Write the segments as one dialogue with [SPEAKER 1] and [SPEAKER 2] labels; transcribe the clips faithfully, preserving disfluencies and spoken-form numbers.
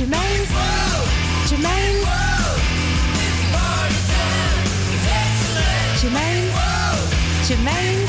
[SPEAKER 1] Germaine's, Germaine's, Germaine's, Germaine's.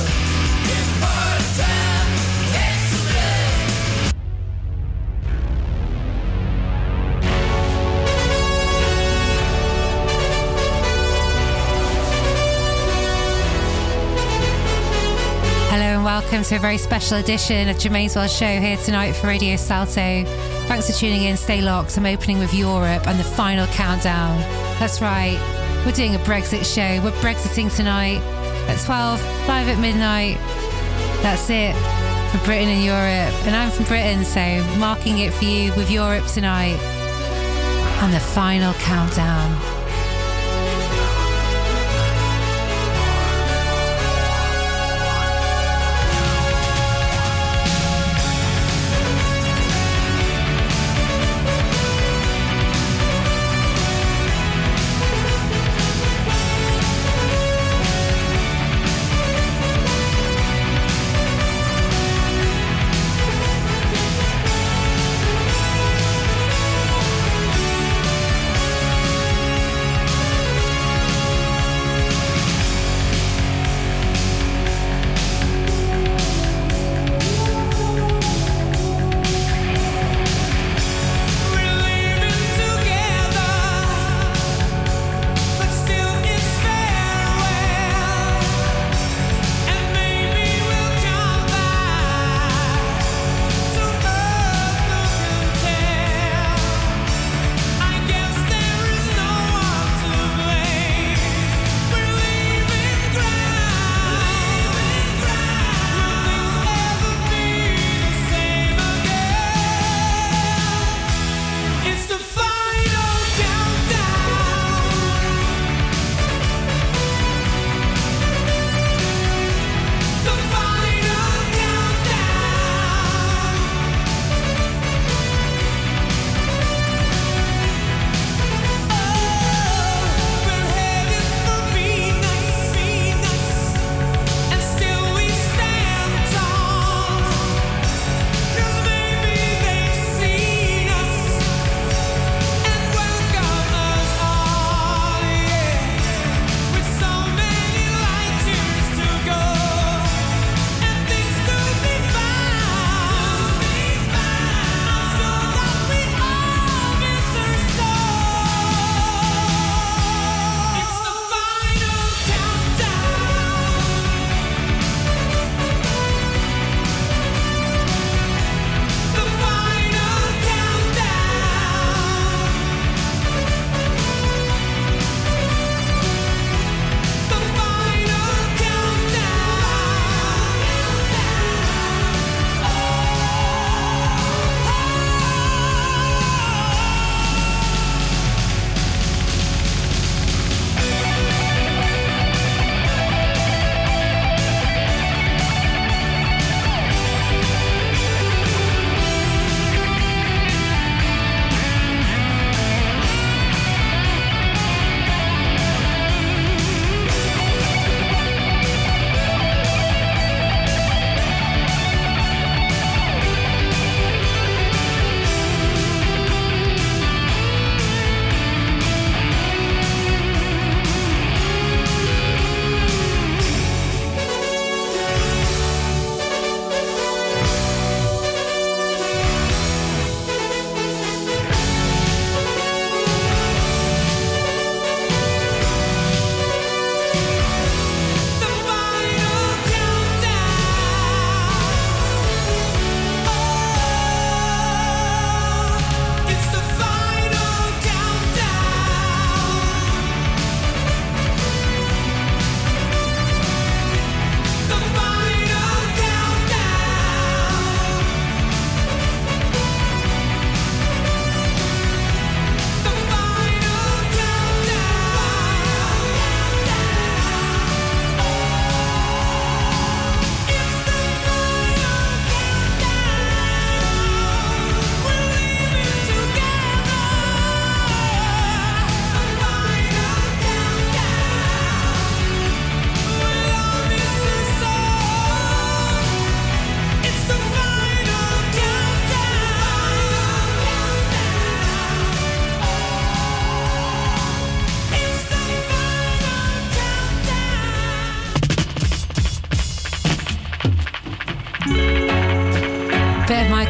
[SPEAKER 2] Welcome to a very special edition of Germaine's World Show here tonight for Radio Salto. Thanks for tuning in. Stay locked. I'm opening with Europe and the final countdown. That's right. We're doing a Brexit show. We're Brexiting tonight at twelve, live at midnight. That's it for Britain and Europe. And I'm from Britain, so marking it for you with Europe tonight. And the final countdown.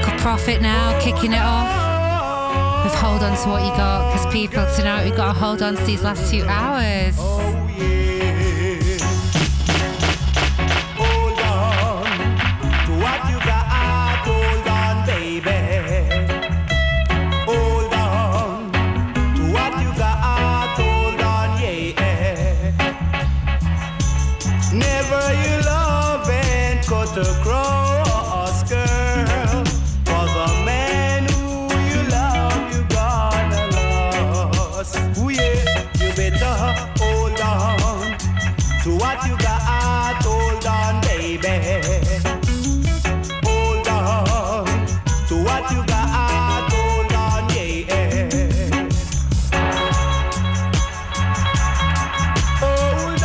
[SPEAKER 2] Michael Prophet now, kicking it off with Hold On To What You Got, because people, tonight we've got to hold on to these last two hours.
[SPEAKER 3] Oh, yeah. Hold on to what you got, hold on, baby. Hold on to what you got, hold on, yeah. Never you love and cut across, girl. For the man who you love, you gonna lose. Ooh, yeah, you better hold on to what you got, hold on, baby. Hold on to what you got, hold on, yeah. Hold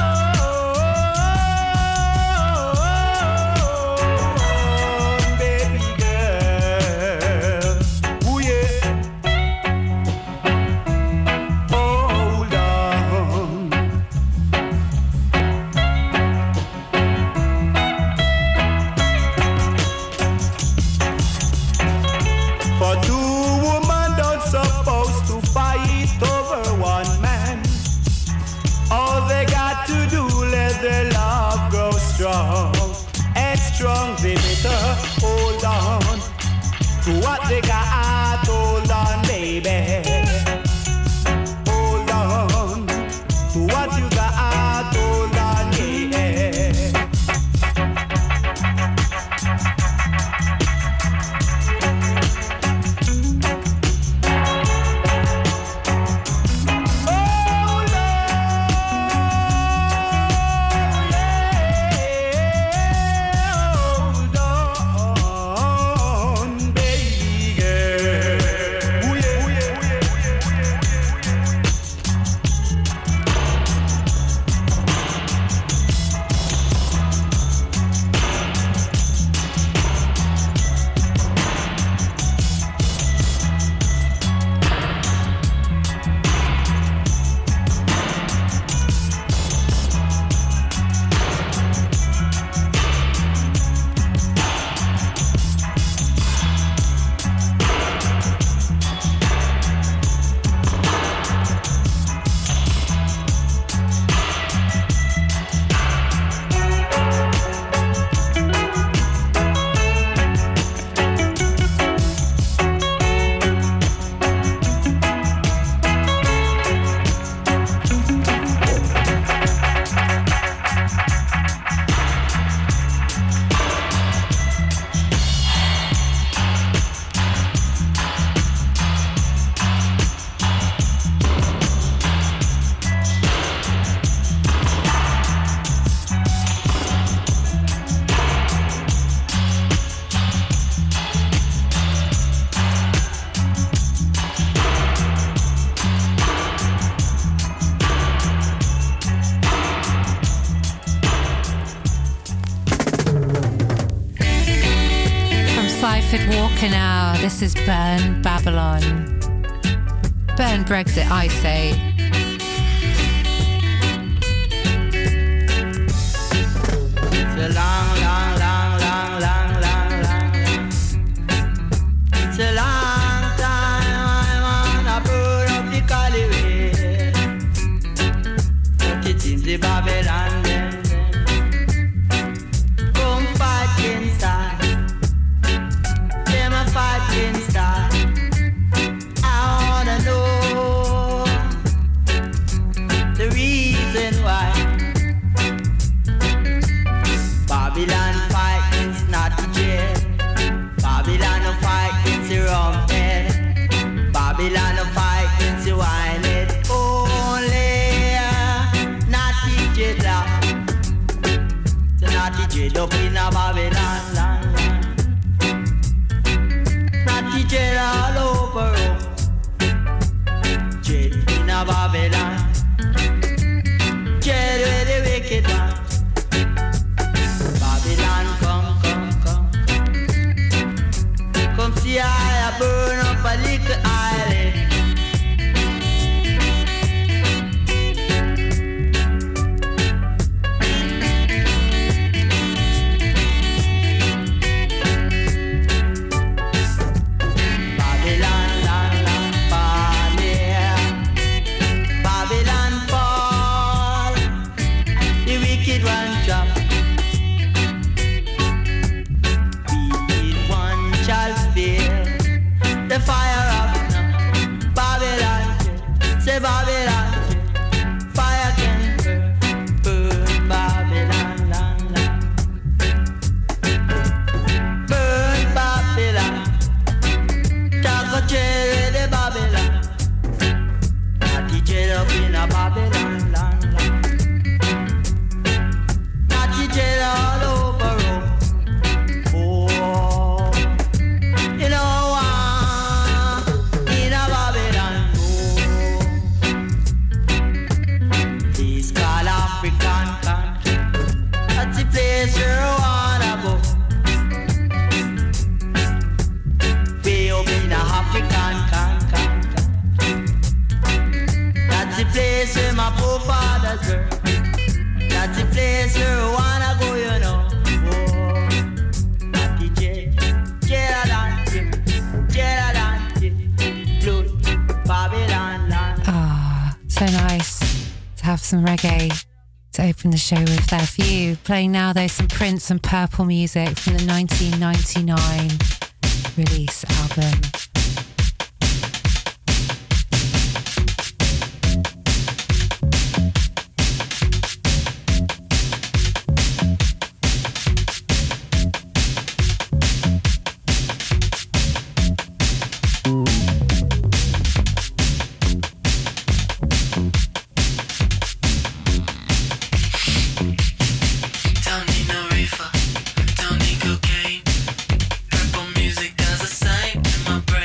[SPEAKER 3] on, baby girl. Ooh, yeah. Hold on. For two women don't supposed to fight over one man. All they got to do, let their love grow strong and strong. They better hold on to what they got. Hold on, baby. Hold on to what you got. Hold on, yeah. Hold on, baby girl. Ooh, yeah, ooh, yeah, ooh, yeah.
[SPEAKER 2] From Seifert Walker now, this is Burn Babylon. Burn Brexit, I say.
[SPEAKER 4] It's a long, long, long, long, long, long, long. It's a long time I wanna burn up the Caliway. But it seems the Babylon them, them come fight inside. Them a fight inside. I wanna know the reason why. Babylon fight is not the jail. Babylon no fight against the rum head. Babylon no fight against the wine head. Only uh, not the jail. So not the jail up in a Babylon land. Not the jail all over. Jail in a Babylon. Jail where the wicked man. Babylon, come, come, come. Come see I burn up a little island. fire up now. Babylon, say Babylon, fire can burn, burn Babylon, land, land. Burn Babylon, talk a cherry the Babylon, natty cherry up in a Babylon, land, land. Natty cherry all over Rome. Oh, you know what? In a Babylon, oh, this called African country. That's the place where I wanna go. Way up in a African country. That's the place where my forefathers were. That's the place where I wanna go, you know. Oh, Natty J, Jeradante, Jeradante, Blood, Babylon land.
[SPEAKER 2] Ah, so nice to have some reggae to open the show with there for you. Playing now, though, some Prince and Purple music from the nineteen ninety-nine release album.
[SPEAKER 5] Don't need no reefer, don't need cocaine. Purple music does the same in my brain.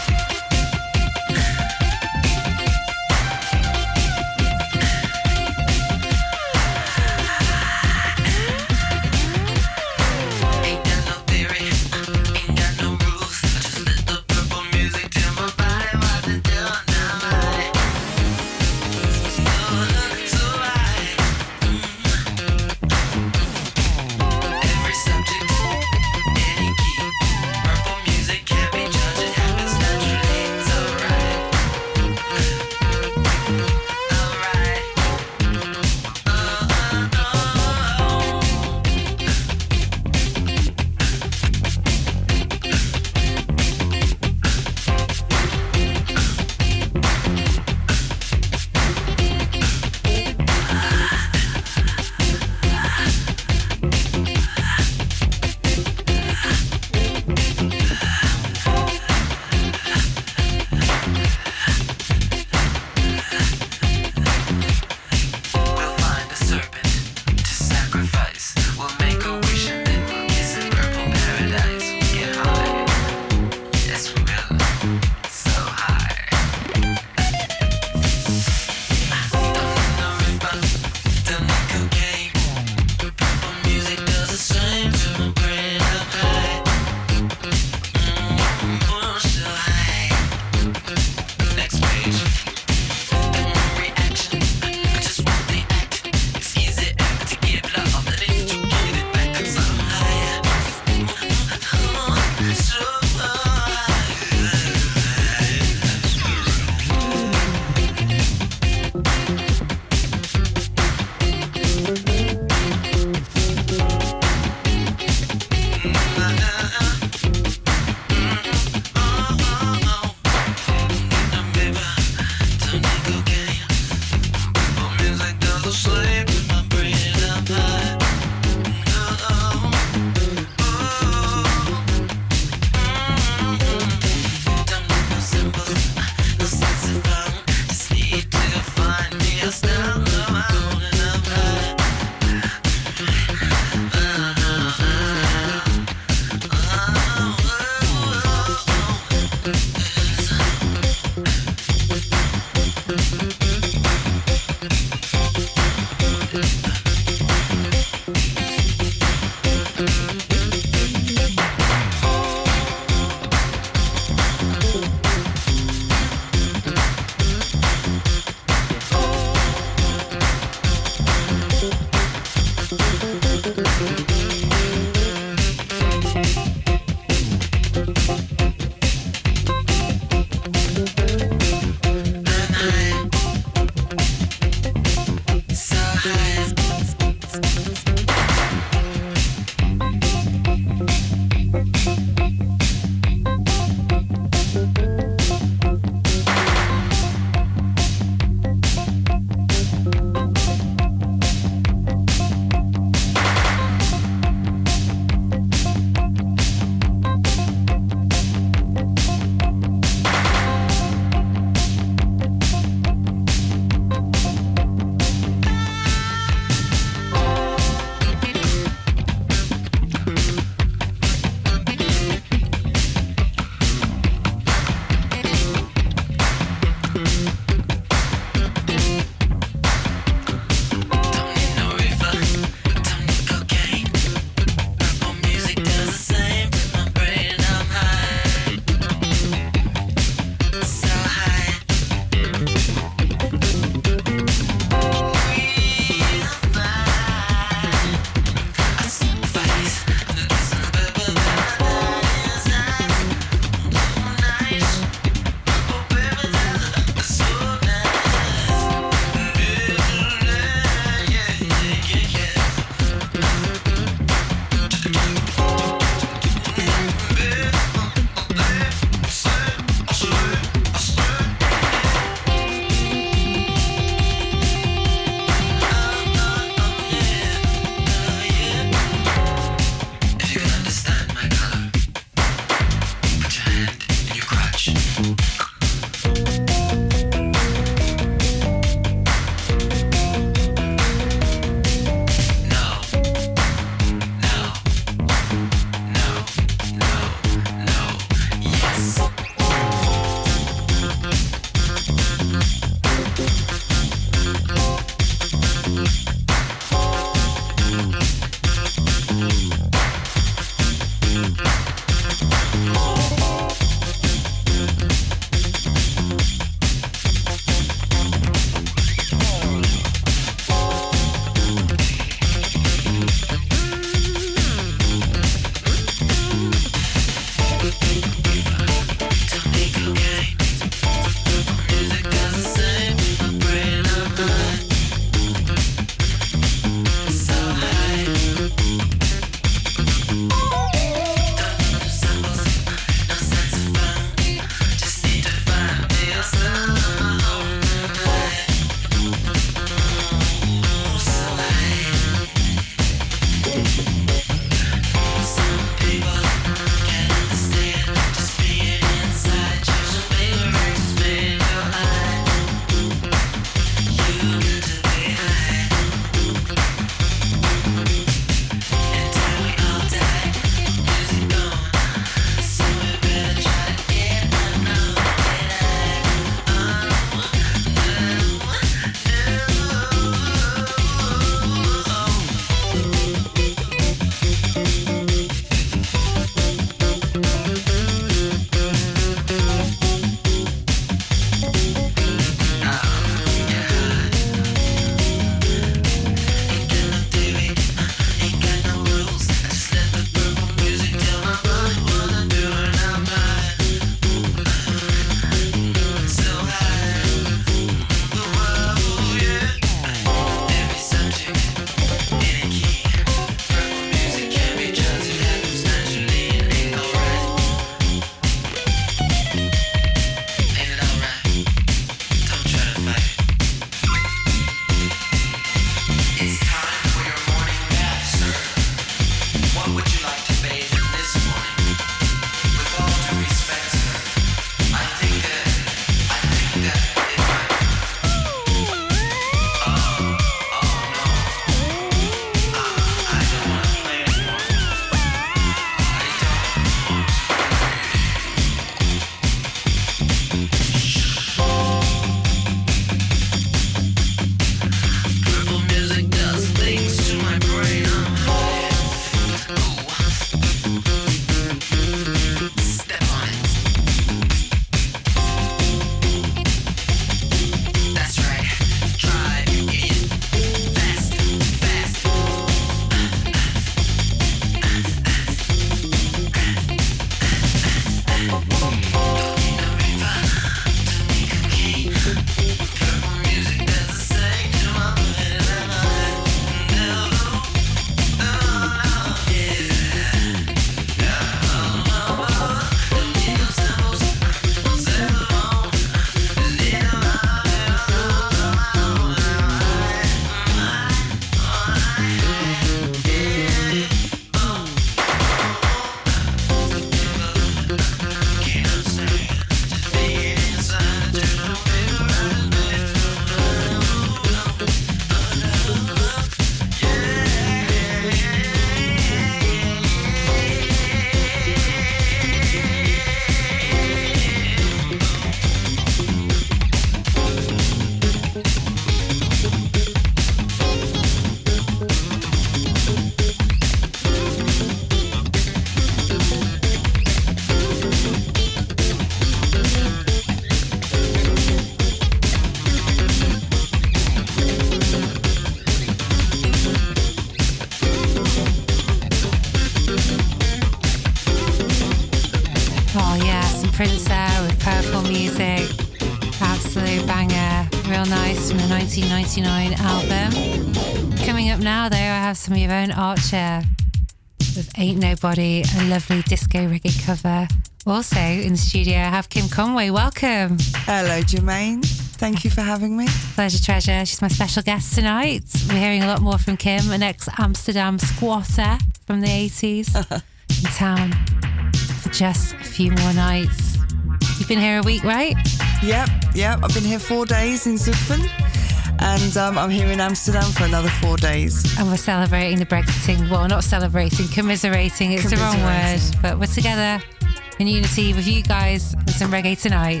[SPEAKER 2] Prince there with Purple Music. Absolute banger. Real nice from the nineteen ninety-nine album. Coming up now, though, I have some of your own Archer with Ain't Nobody, a lovely disco reggae cover. Also in the studio, I have Kim Conway. Welcome.
[SPEAKER 5] Hello, Jermaine. Thank you for having me.
[SPEAKER 2] Pleasure, treasure. She's my special guest tonight. We're hearing a lot more from Kim, an ex-Amsterdam squatter from the eighties, in town for just a few more nights. You've been here a week, right?
[SPEAKER 5] Yep, yep. I've been here four days in Zutphen, and um, I'm here in Amsterdam for another four days.
[SPEAKER 2] And we're celebrating the Brexiting. Well, not celebrating, commiserating. It's the wrong word. But we're together in unity with you guys and some reggae tonight.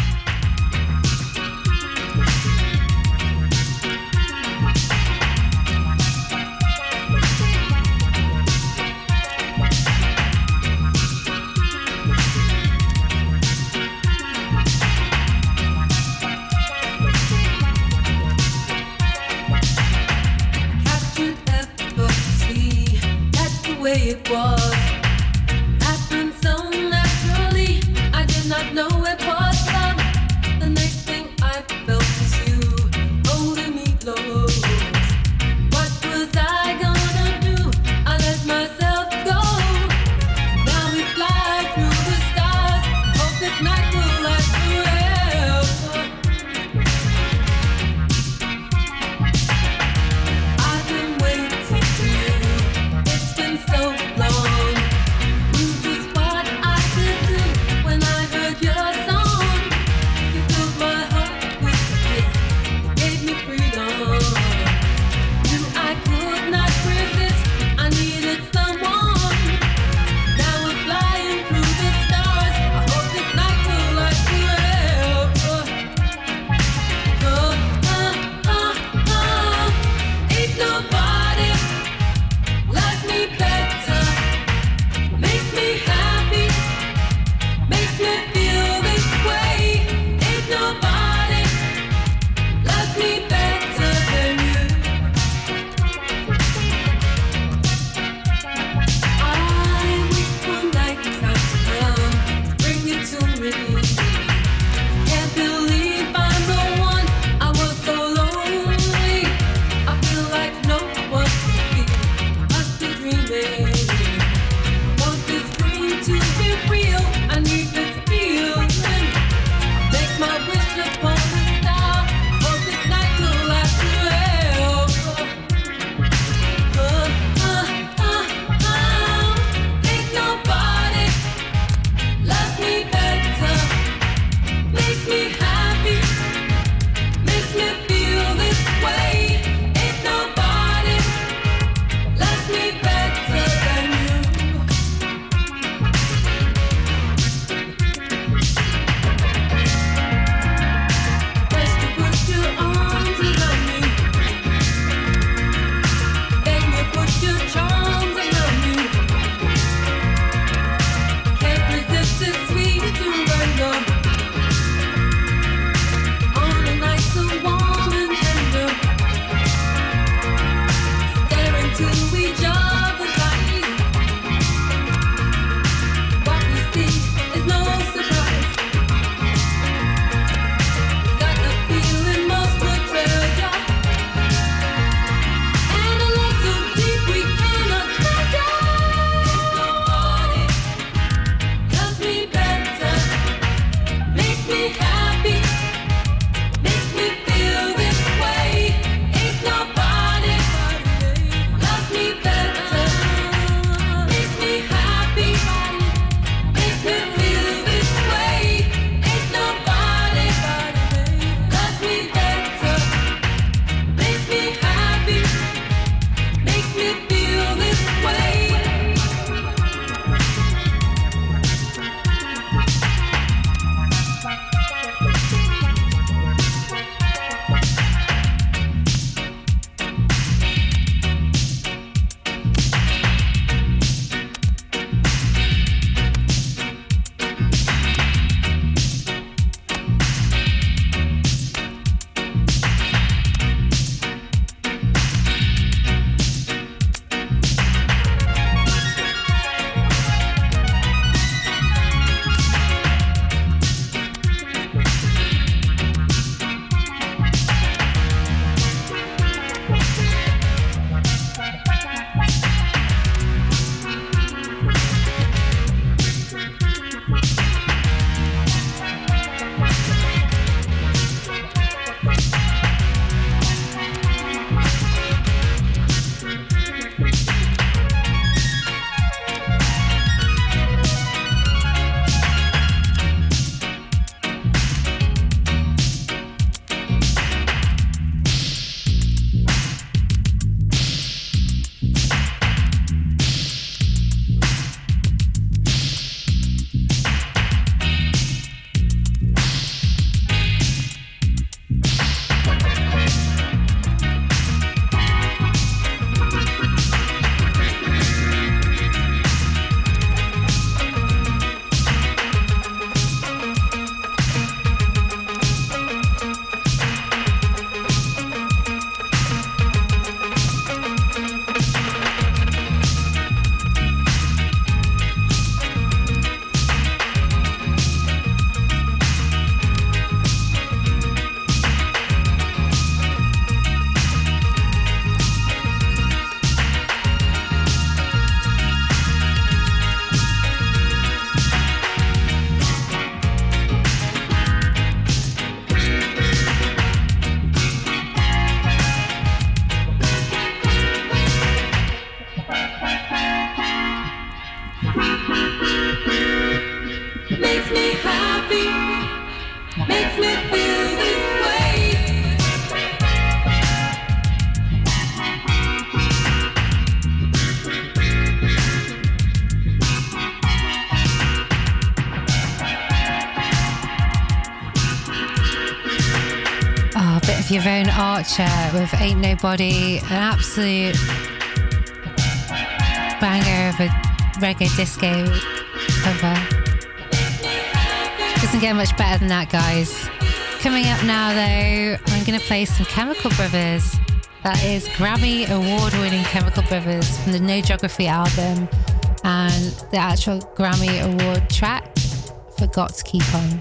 [SPEAKER 6] It was happened so naturally. I did not know it was love. The next thing I felt was you holding me close. What was I gonna do? I let myself go. Now we fly through the stars. Hope this night will last forever. I've been waiting for you. It's been so long.
[SPEAKER 2] with Yvonne Archer with Ain't Nobody, an absolute banger of a reggae disco cover. Doesn't get much better than that, guys. Coming up now, though, I'm going to play some Chemical Brothers. That is Grammy award-winning Chemical Brothers from the No Geography album, and the actual Grammy award track for Got to Keep On.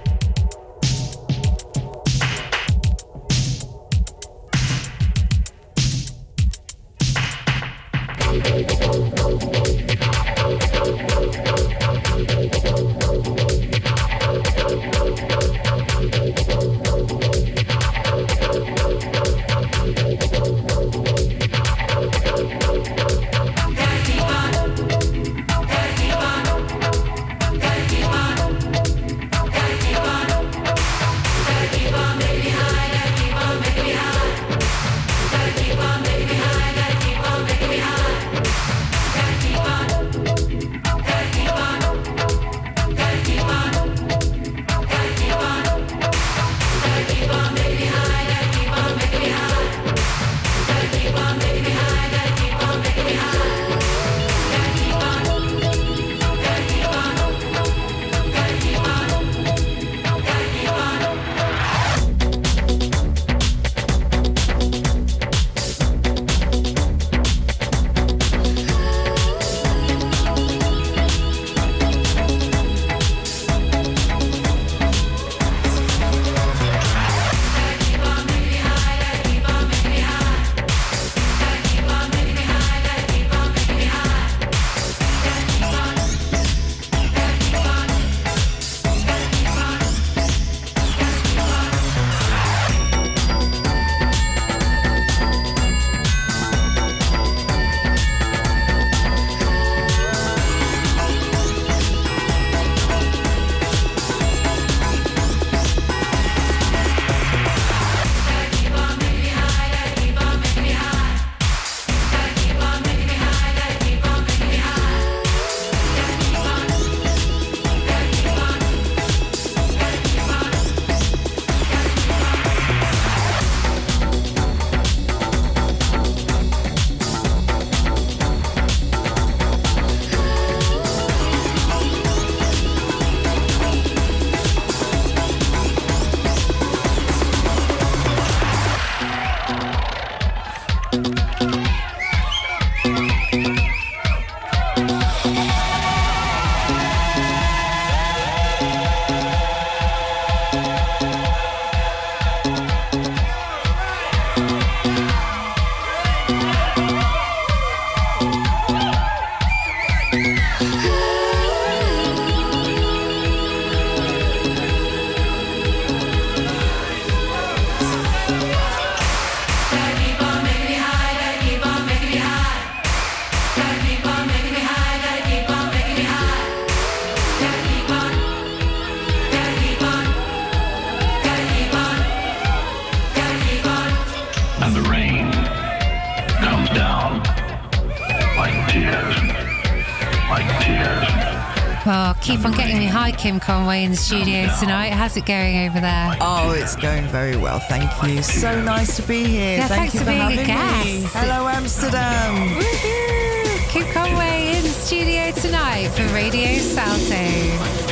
[SPEAKER 7] Well, keep on getting me high, Kim Conway, in the studio tonight. How's it going over there?
[SPEAKER 5] Oh, it's going very well, thank you. So nice to be here.
[SPEAKER 7] Yeah,
[SPEAKER 5] thank
[SPEAKER 7] thanks
[SPEAKER 5] you
[SPEAKER 7] for
[SPEAKER 5] for
[SPEAKER 7] being a
[SPEAKER 5] having
[SPEAKER 7] guest.
[SPEAKER 5] me. Hello, Amsterdam.
[SPEAKER 7] Woohoo! Kim Conway in the studio tonight for Radio Salto.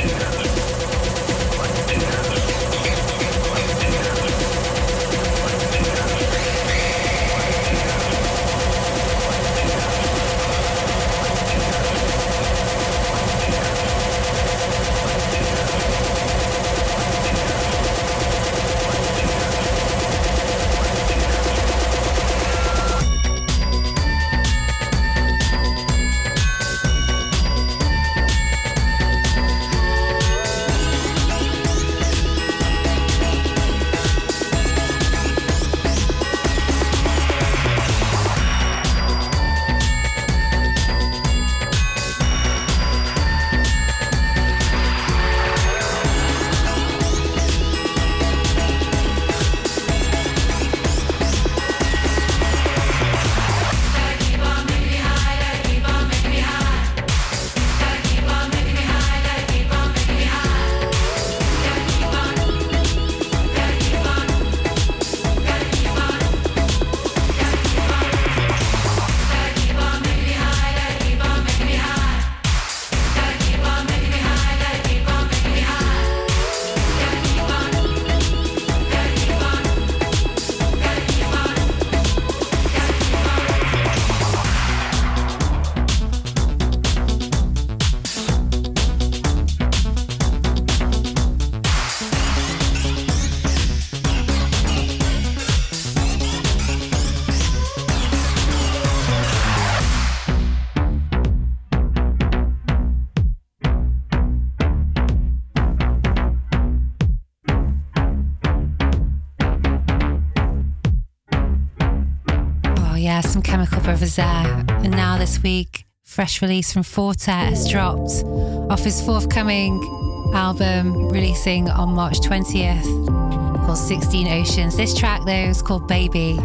[SPEAKER 2] is there. And now this week, fresh release from Fortet has dropped off his forthcoming album, releasing on March twentieth, called sixteen Oceans. This track, though, is called Baby.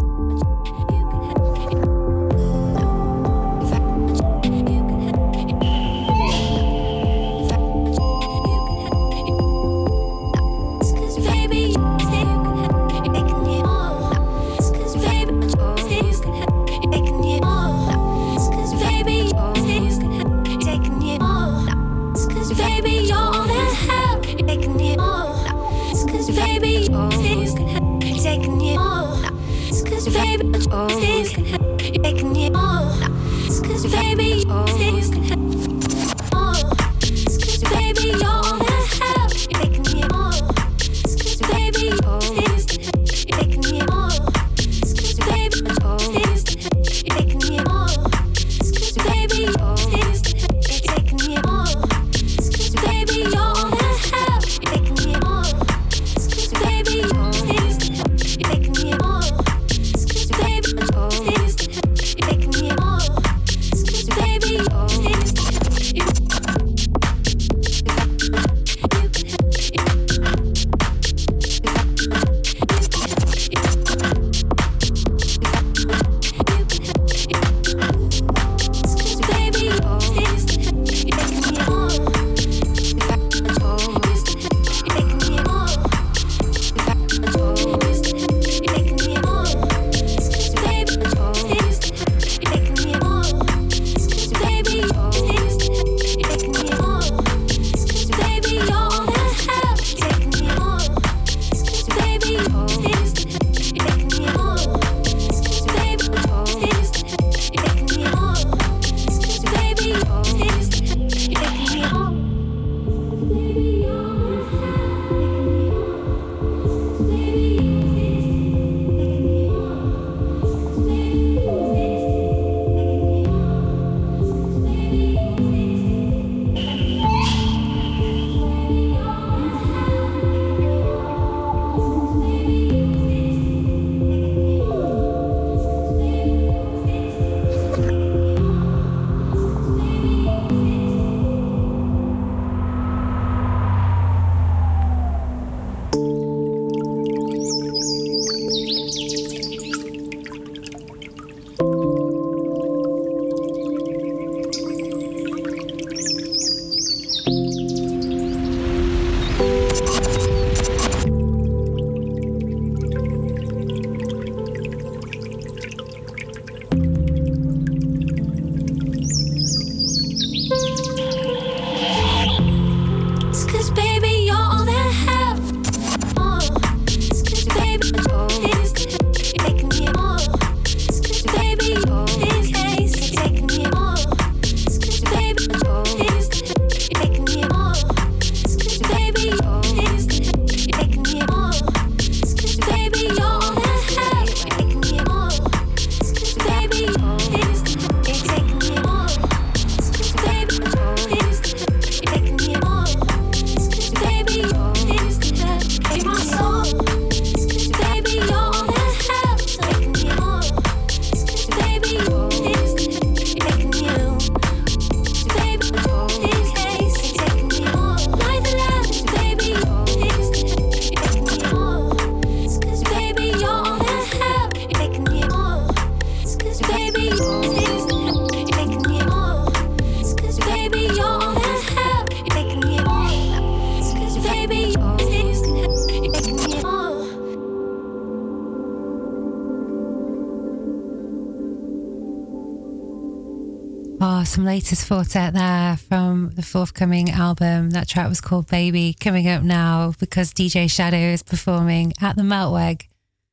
[SPEAKER 2] Oh, some latest Fortet there from the forthcoming album. That track was called Baby. Coming up now, because D J Shadow is performing at the Meltweg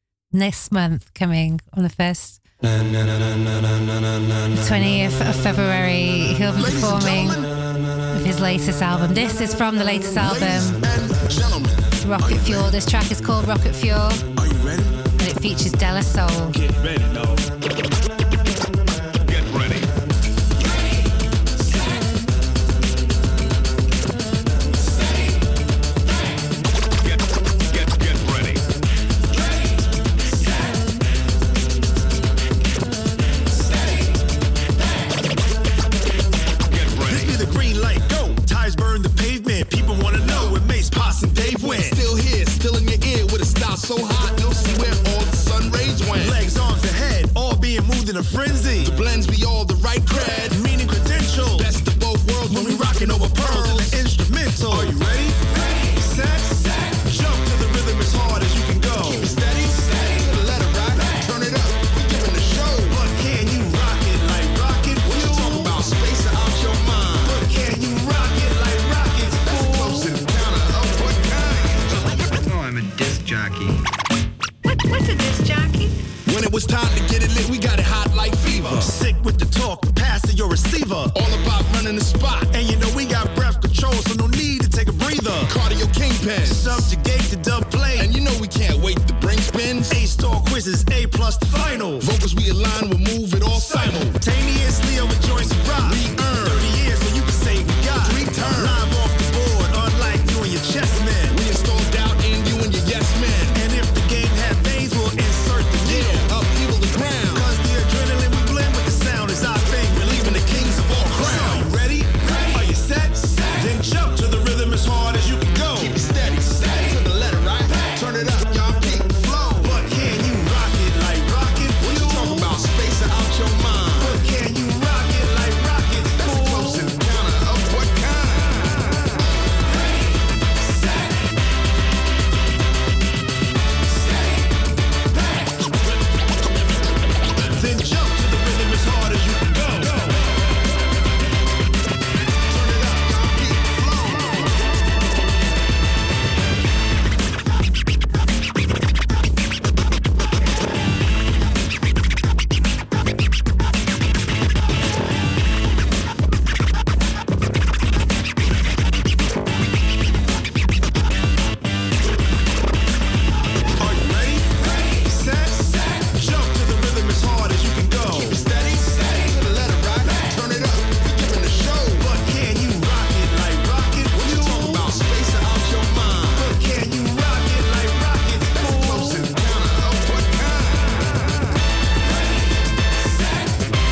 [SPEAKER 2] this month, coming on the first twentieth of February. He'll be performing with his latest album. This is from the latest album, Rocket Fuel. This track is called Rocket Fuel.
[SPEAKER 8] Are you ready?
[SPEAKER 2] And it features Della Soul.
[SPEAKER 8] Get ready, dog.
[SPEAKER 9] Ready,
[SPEAKER 8] your receiver. All about running the spot. And you know we got breath control, so no need to take a breather. Cardio kingpin. Subjugate the dub play. And you know we can't wait to bring spins. A-star quizzes, A plus the final. Vocals we align, we'll move it all simultaneously over joints of rock. We earn thirty years, so you can say we got three turns. Live off the board, unlike you and your chess men. We install doubt in you and your yes men. And if the game had veins, we'll insert the nil. Upheaval the ground. Cause the adrenaline we blend with the sound is our thing. We're leaving the kings of all crowns. You ready? Ready? Are you set? Set. Then jump to the rhythm as hard as you can go. Keep it steady. Steady. To the letter, right? Back. Turn it up, y'all. Keep the flow. But can you rock it like rocket? What you talking about? Space out your mind. But can you rock it like rocket? That's a close encounter of what kind? Ready, set, steady, back. Then jump to the rhythm as hard as you can go. Turn it up, y'all. Keep the flow. Are you ready? Ready, set, set. Jump to the rhythm as hard as you can go. Keep it steady, steady. To the letter, right? Turn it up. We're giving a show. But can you rock it like rocket? What you talking about? Space out your mind. But can you rock it like rocket? That's a close encounter of what kind? Ready, set,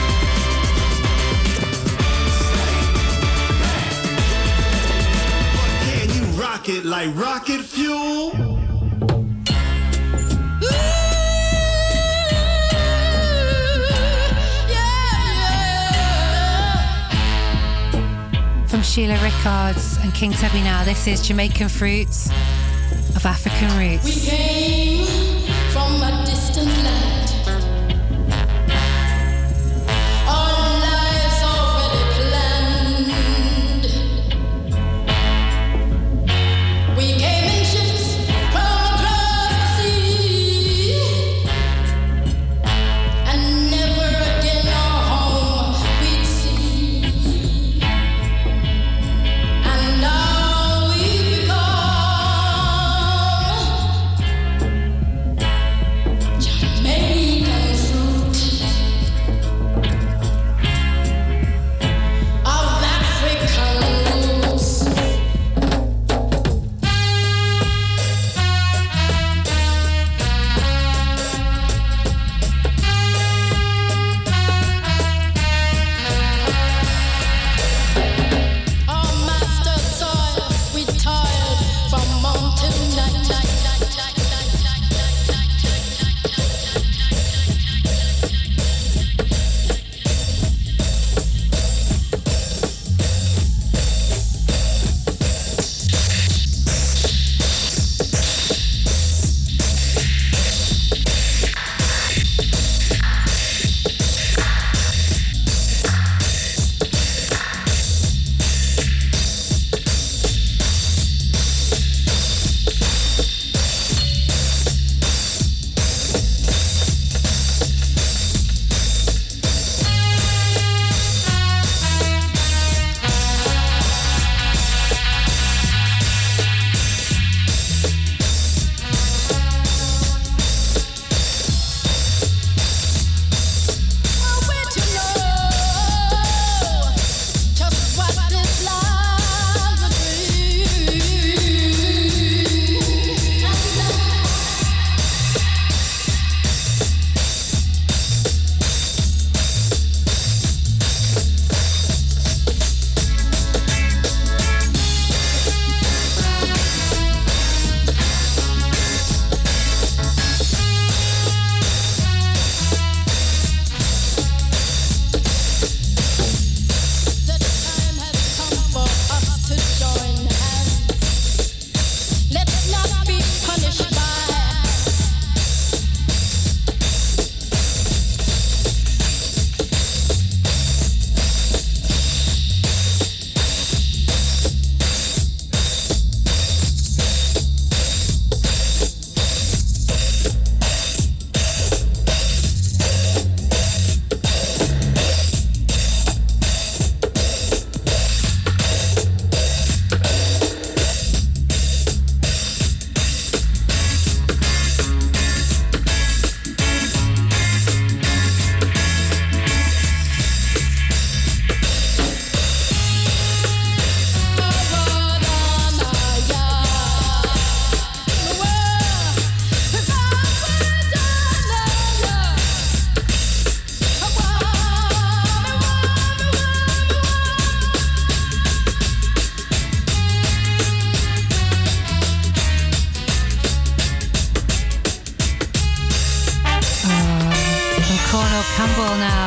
[SPEAKER 8] steady, back. But can you rock it like rocket fuel?
[SPEAKER 2] From Sheila Rickards and King Tubby now, this is Jamaican Fruits of African
[SPEAKER 6] We
[SPEAKER 2] Roots.
[SPEAKER 6] came from a distant land. Our lives already planned. We came in ships from across the sea, and never again our home we'd see. And now we've become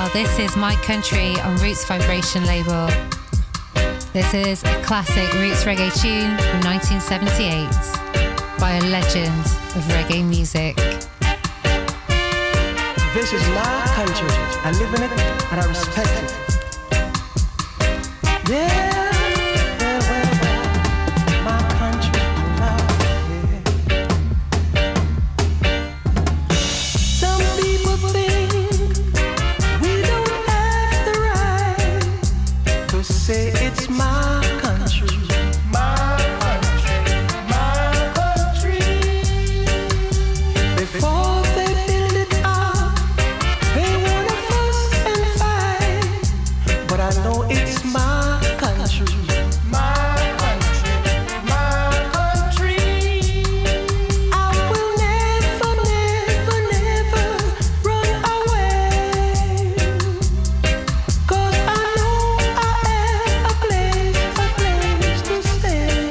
[SPEAKER 2] well. This is My Country on Roots Vibration label. This is a classic Roots reggae tune from nineteen seventy-eight by a legend of reggae music.
[SPEAKER 9] This is my country. I live in it and I respect it. Yeah.
[SPEAKER 10] Say it's my country, my country, my country. Before they build it up, they wanna fuss and fight. But I know it's my country, my country, my country. I will never, never, never run away. 'Cause I know a place to stay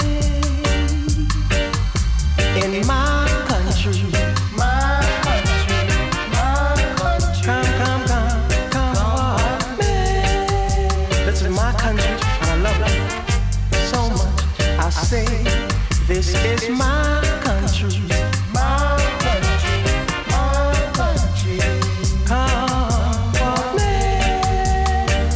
[SPEAKER 10] in my country, my country, my country. Come, come, come, come on, man. This is my country and I love it so much. I say this is my country, my country, my country. Come on, man.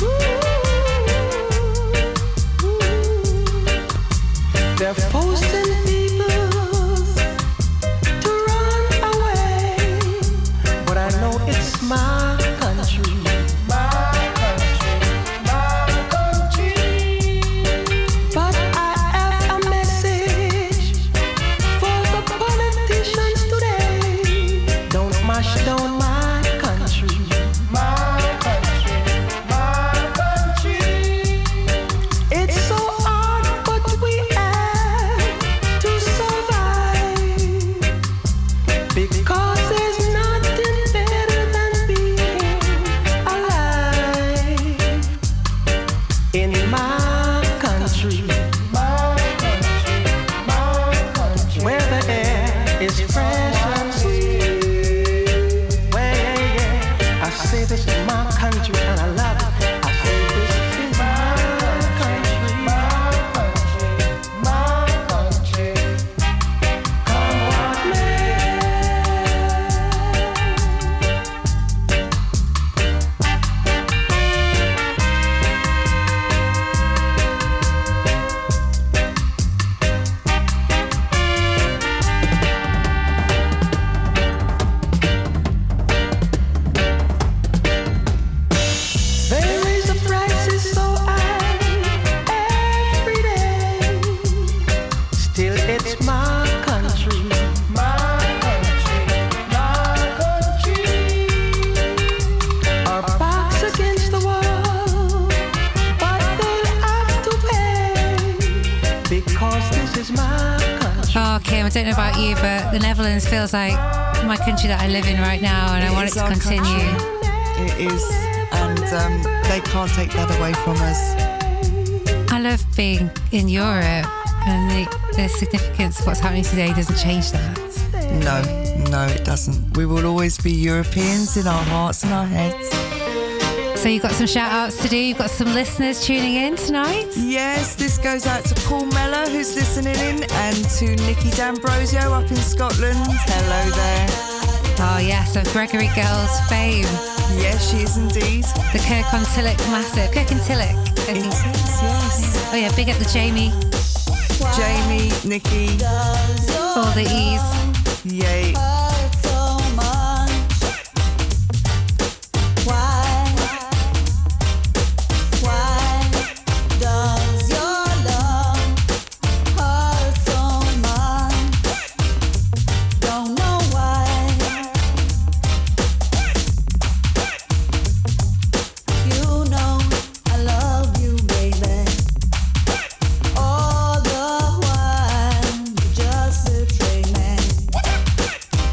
[SPEAKER 10] They're forcing people to run away, but I know it's my country, my country, my country. But I have a message for the politicians today. Don't mash down my country, my country, my country. It's so hard, but we have to survive, because there's nothing better than being alive in my country, my country, my country, where the air is fresh and sweet. Well, yeah, yeah. I say this is my country and I love it. I say this is my country, my country, my country. Come on, man. They raise the prices so high every day. Still, it's my country, my country, my country. Our backs against the wall, but they'll have to pay, because this is my country.
[SPEAKER 2] Oh, Kim, I don't know about you, but the Netherlands feels like my country that I live in right now, and I
[SPEAKER 5] It
[SPEAKER 2] want
[SPEAKER 5] is
[SPEAKER 2] it to
[SPEAKER 5] our
[SPEAKER 2] continue.
[SPEAKER 5] country. It is, and um, they can't take that away from us.
[SPEAKER 2] I love being in Europe, and the, the significance of what's happening today doesn't change that.
[SPEAKER 5] No, no, it doesn't. We will always be Europeans in our hearts and our heads.
[SPEAKER 2] So you've got some shout outs to do. You've got some listeners tuning in tonight.
[SPEAKER 5] Yes, this goes out to Paul Mellor, who's listening in, and to Nikki D'Ambrosio up in Scotland. Hello there.
[SPEAKER 2] Oh yes, of Gregory Girls fame.
[SPEAKER 5] Yes, she is indeed.
[SPEAKER 2] The Kirk on Tillich massive. Kirk and Tillich.
[SPEAKER 5] It is, yes.
[SPEAKER 2] Oh yeah, big up the Jamie.
[SPEAKER 5] Jamie, Nikki.
[SPEAKER 2] All the E's.
[SPEAKER 5] Yay.
[SPEAKER 10] All the while you just betray me.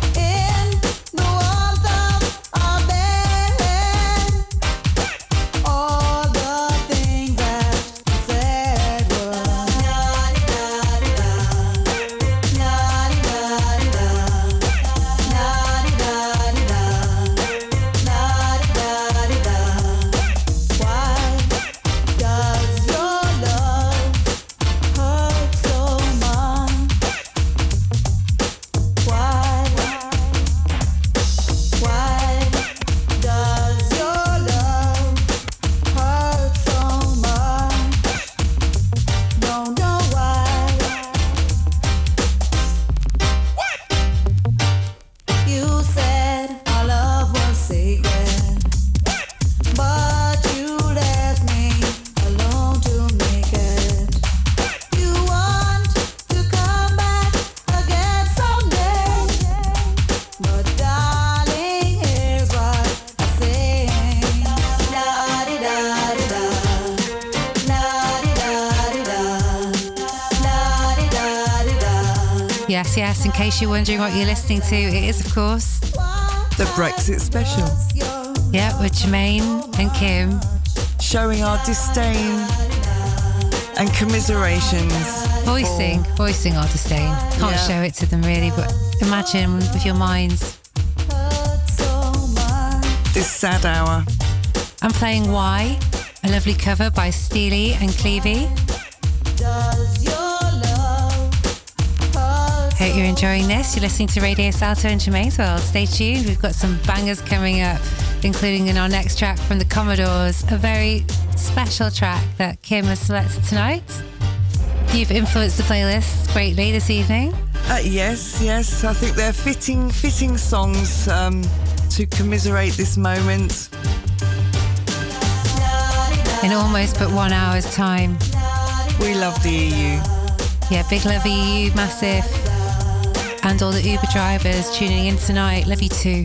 [SPEAKER 2] Yes, yes, in case you're wondering what you're listening to, it is, of course,
[SPEAKER 5] the Brexit special.
[SPEAKER 2] Yeah, with Jermaine and Kim.
[SPEAKER 5] Showing our disdain and commiserations.
[SPEAKER 2] Voicing,
[SPEAKER 5] for...
[SPEAKER 2] voicing our disdain. Can't
[SPEAKER 5] yeah.
[SPEAKER 2] show it to them really, but imagine with your minds.
[SPEAKER 5] This sad hour.
[SPEAKER 2] I'm playing Why, a lovely cover by Steely and Clevie. Hope you're enjoying this. You're listening to Radio Salto in Jermaine's World. Stay tuned. We've got some bangers coming up, including in our next track from the Commodores, a very special track that Kim has selected tonight. You've influenced the playlist greatly this evening.
[SPEAKER 5] Uh, yes, yes. I think they're fitting, fitting songs um, to commiserate this moment.
[SPEAKER 2] In almost but one hour's time.
[SPEAKER 5] We love the E U.
[SPEAKER 2] Yeah, big love E U, massive. And all the Uber drivers tuning in tonight. Love you too.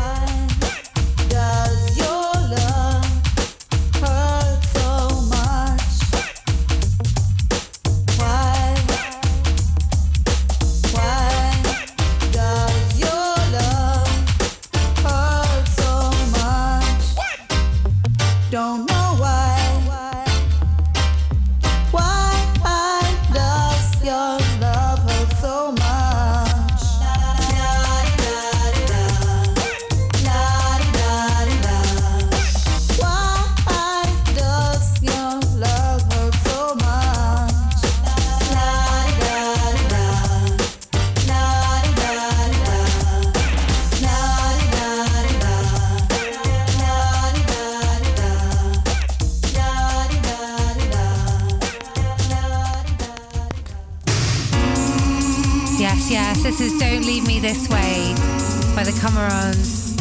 [SPEAKER 2] This is Don't Leave Me This Way by the Commodores.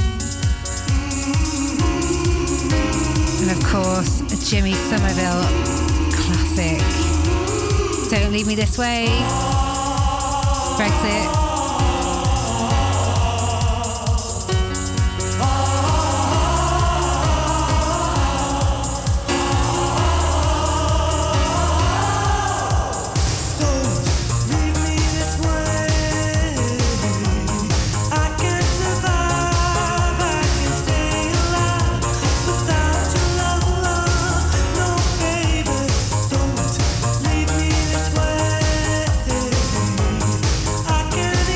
[SPEAKER 2] And of course, a Jimmy Somerville classic. Don't Leave Me This Way. Brexit.
[SPEAKER 11] Leave me this way. I can't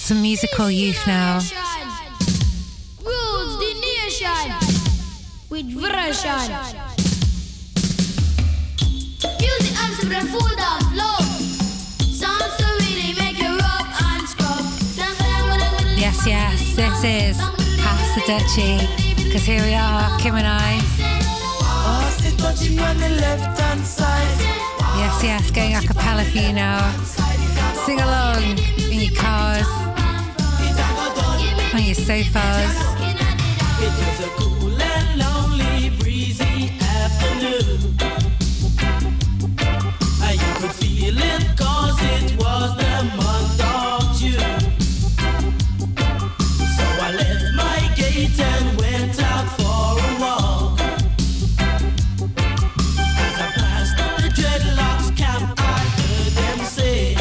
[SPEAKER 2] Some musical youth now.
[SPEAKER 11] Rules the nation with version. Music and some food of love. Songs to really make you rub and scrub.
[SPEAKER 2] Yes, yes, this is Pass the Dutchie. Because here we are, Kim and I.
[SPEAKER 3] Pass the Dutchie on the left hand side.
[SPEAKER 2] Yes, yes, going a cappella for you now. Sing along in your cars, on your sofas.
[SPEAKER 3] It was a cool and lonely, breezy afternoon. And you could feel it cause it was the month of June. So I left my gate and went out for a walk. As I passed the dreadlocks camp, I heard them say,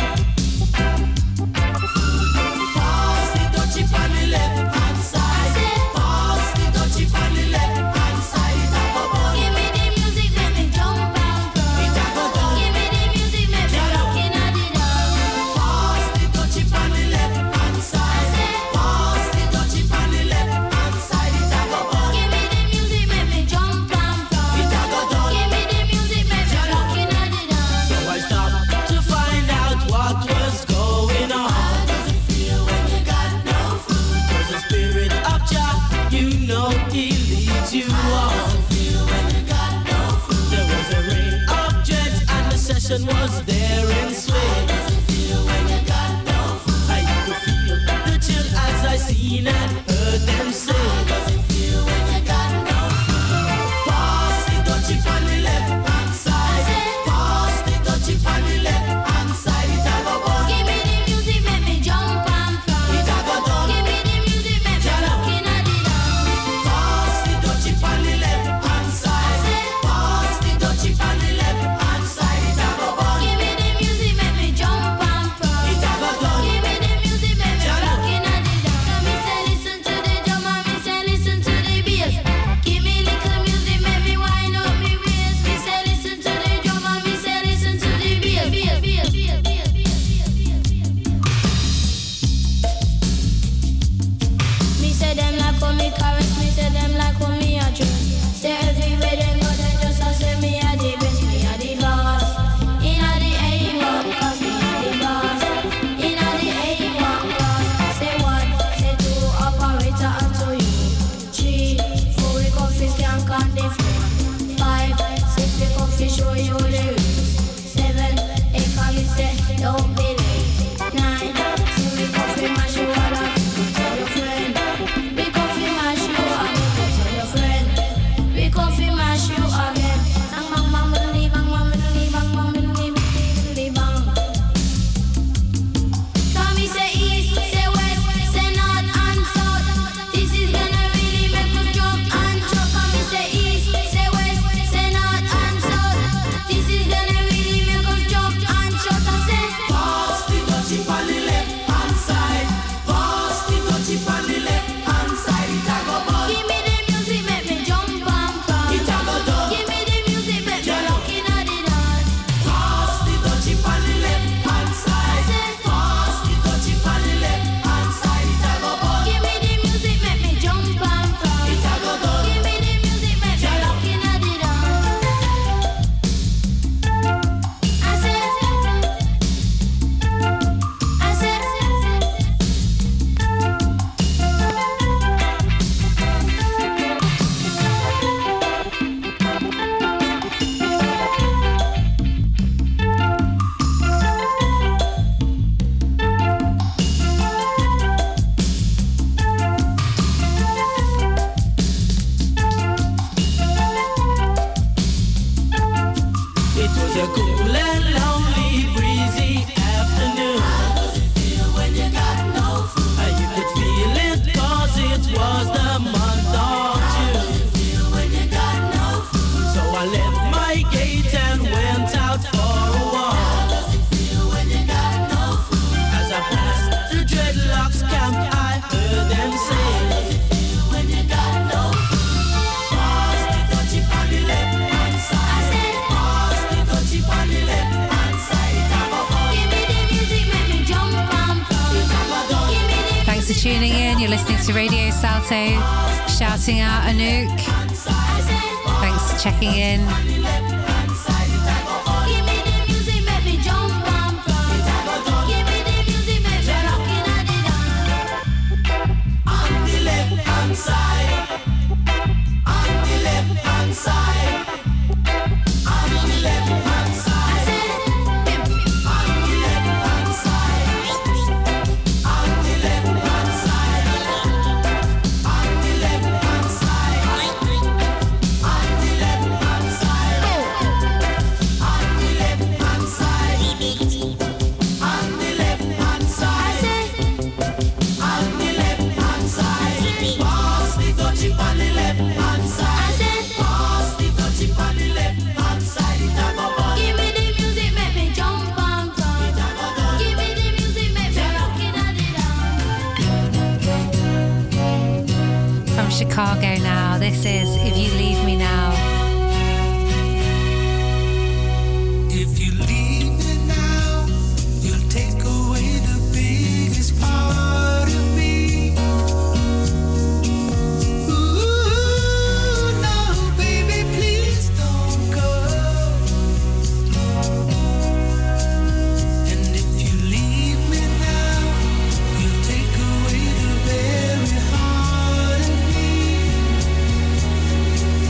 [SPEAKER 3] pass the Dutchie on the left hand side. Pass the Dutchie on the left hand side. It a go down.
[SPEAKER 11] Give me the music, make me jump and cry.
[SPEAKER 3] It a go down.
[SPEAKER 11] Give me the music, make me looking at it all.
[SPEAKER 3] Pass the Dutchie on the left hand side. Pass the Dutchie on the left hand side. It a go down.
[SPEAKER 11] Give me the music, make me jump and cry.
[SPEAKER 3] It a go down.
[SPEAKER 11] Give me the music, make me looking at it all.
[SPEAKER 3] So I stopped to find out what was going on. How does it feel when you got no food? 'Cause the spirit of Jah, you know He leads you on. How does it feel when you got no food? There was a ring of dreads and the session was there in swing. How does it feel when you got no food? I could feel the chill as I seen and heard them say. How does it feel when you got no food? Pass the Dutchie on the left hand side. Pass the Dutchie on the left hand side. It a go down.
[SPEAKER 11] Give me the music, make me jump and cry.
[SPEAKER 3] It a go down.
[SPEAKER 11] Give me the music, make me looking at it all.
[SPEAKER 3] Pass the Dutchie on the left hand side. Pass the Dutchie on the left hand side. It a go down.
[SPEAKER 11] Give me the music, make me jump and cry.
[SPEAKER 3] It a go down.
[SPEAKER 11] Give me the music, make me looking at it all. Come and say this
[SPEAKER 2] tuning in. You're listening to Radio Salto. Shouting out Anouk. Thanks for checking in.
[SPEAKER 11] Give me the music, make me jump and prance. Give me the music, make me rockin' at the dance.
[SPEAKER 3] On the left hand side, on the left hand side, on the left hand side, on the left hand side, on the left hand side, on the left hand side, on the left hand side, on the left hand side, on the left hand side, on the left hand side. Pass the touchy on the left hand side. Pass the touchy on the left hand side. It a go bust.
[SPEAKER 11] Give me the music, make me jump and prance. Give me the music, make me rockin' at the dance.
[SPEAKER 2] From Chicago now, this is If You Leave Me Now.
[SPEAKER 3] If you leave me now, you'll take away the biggest part of me. Ooh, no, baby, please don't go. And if you leave me now, you'll take away the very heart of me.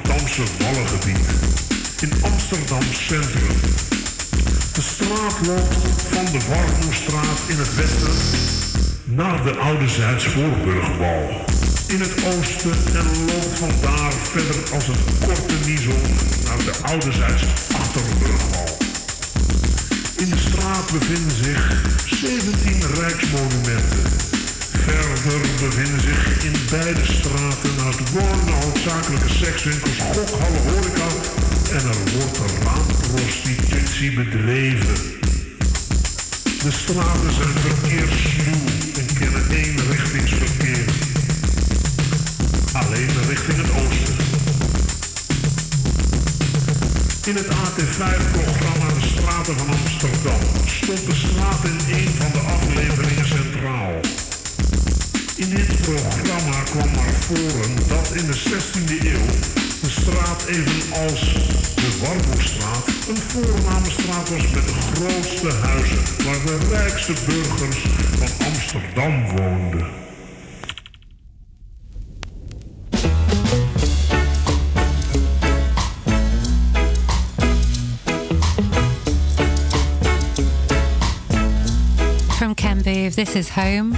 [SPEAKER 12] Rotterdamse Wallengebied. In Amsterdam Centrum. De straat loopt van de Warmoestraat in het westen naar de Oude Zuidsvoorburgwal in het oosten en loopt vandaar verder als een korte niezel naar de Oude Zuidsachterburgwal. In de straat bevinden zich zeventien rijksmonumenten. Verder bevinden zich in beide straten naast wonen hoofdzakelijke sekswinkels, gokhallen, horeca en er wordt raamprostitutie bedreven. De straten zijn verkeerssluw en kennen eenrichtingsverkeer. Alleen richting het oosten. In het A T vijf programma De Straten van Amsterdam stond de straat in een van de afleveringen centraal. In dit programma kwam naar voren dat in de zestiende eeuw de straat evenals de Warmoestraat een voorname straat was met de grootste huizen waar de rijkste burgers van Amsterdam woonden.
[SPEAKER 2] From Ken Booth, this is Home.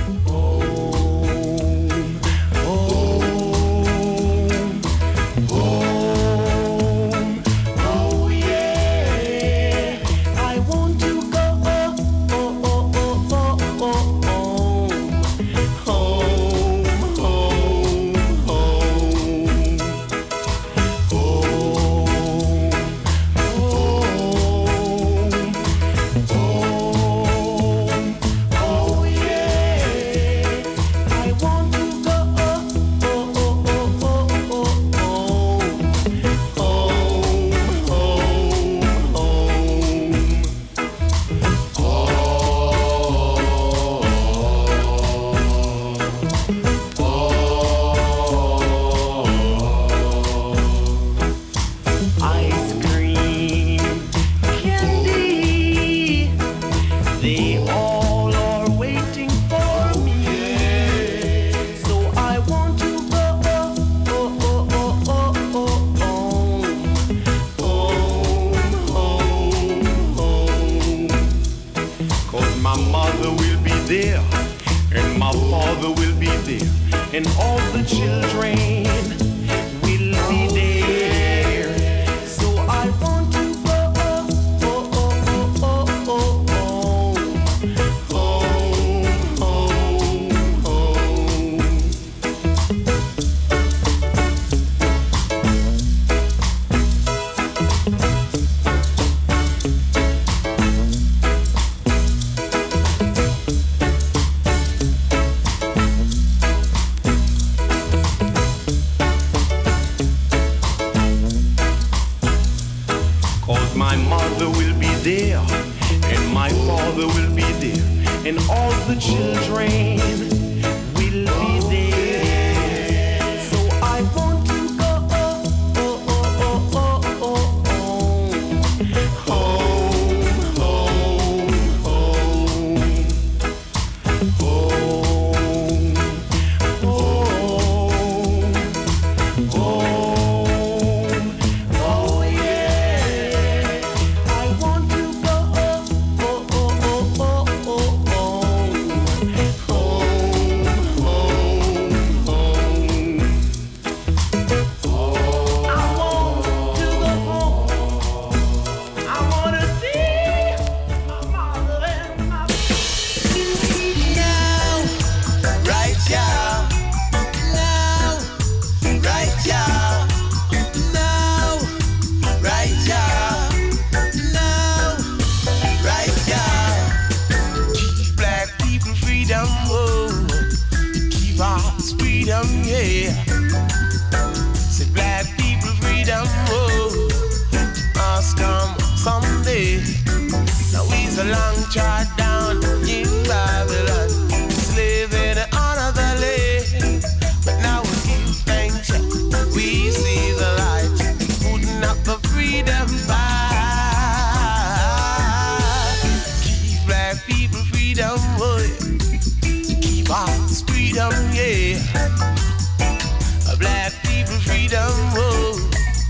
[SPEAKER 13] Black people freedom, whoa.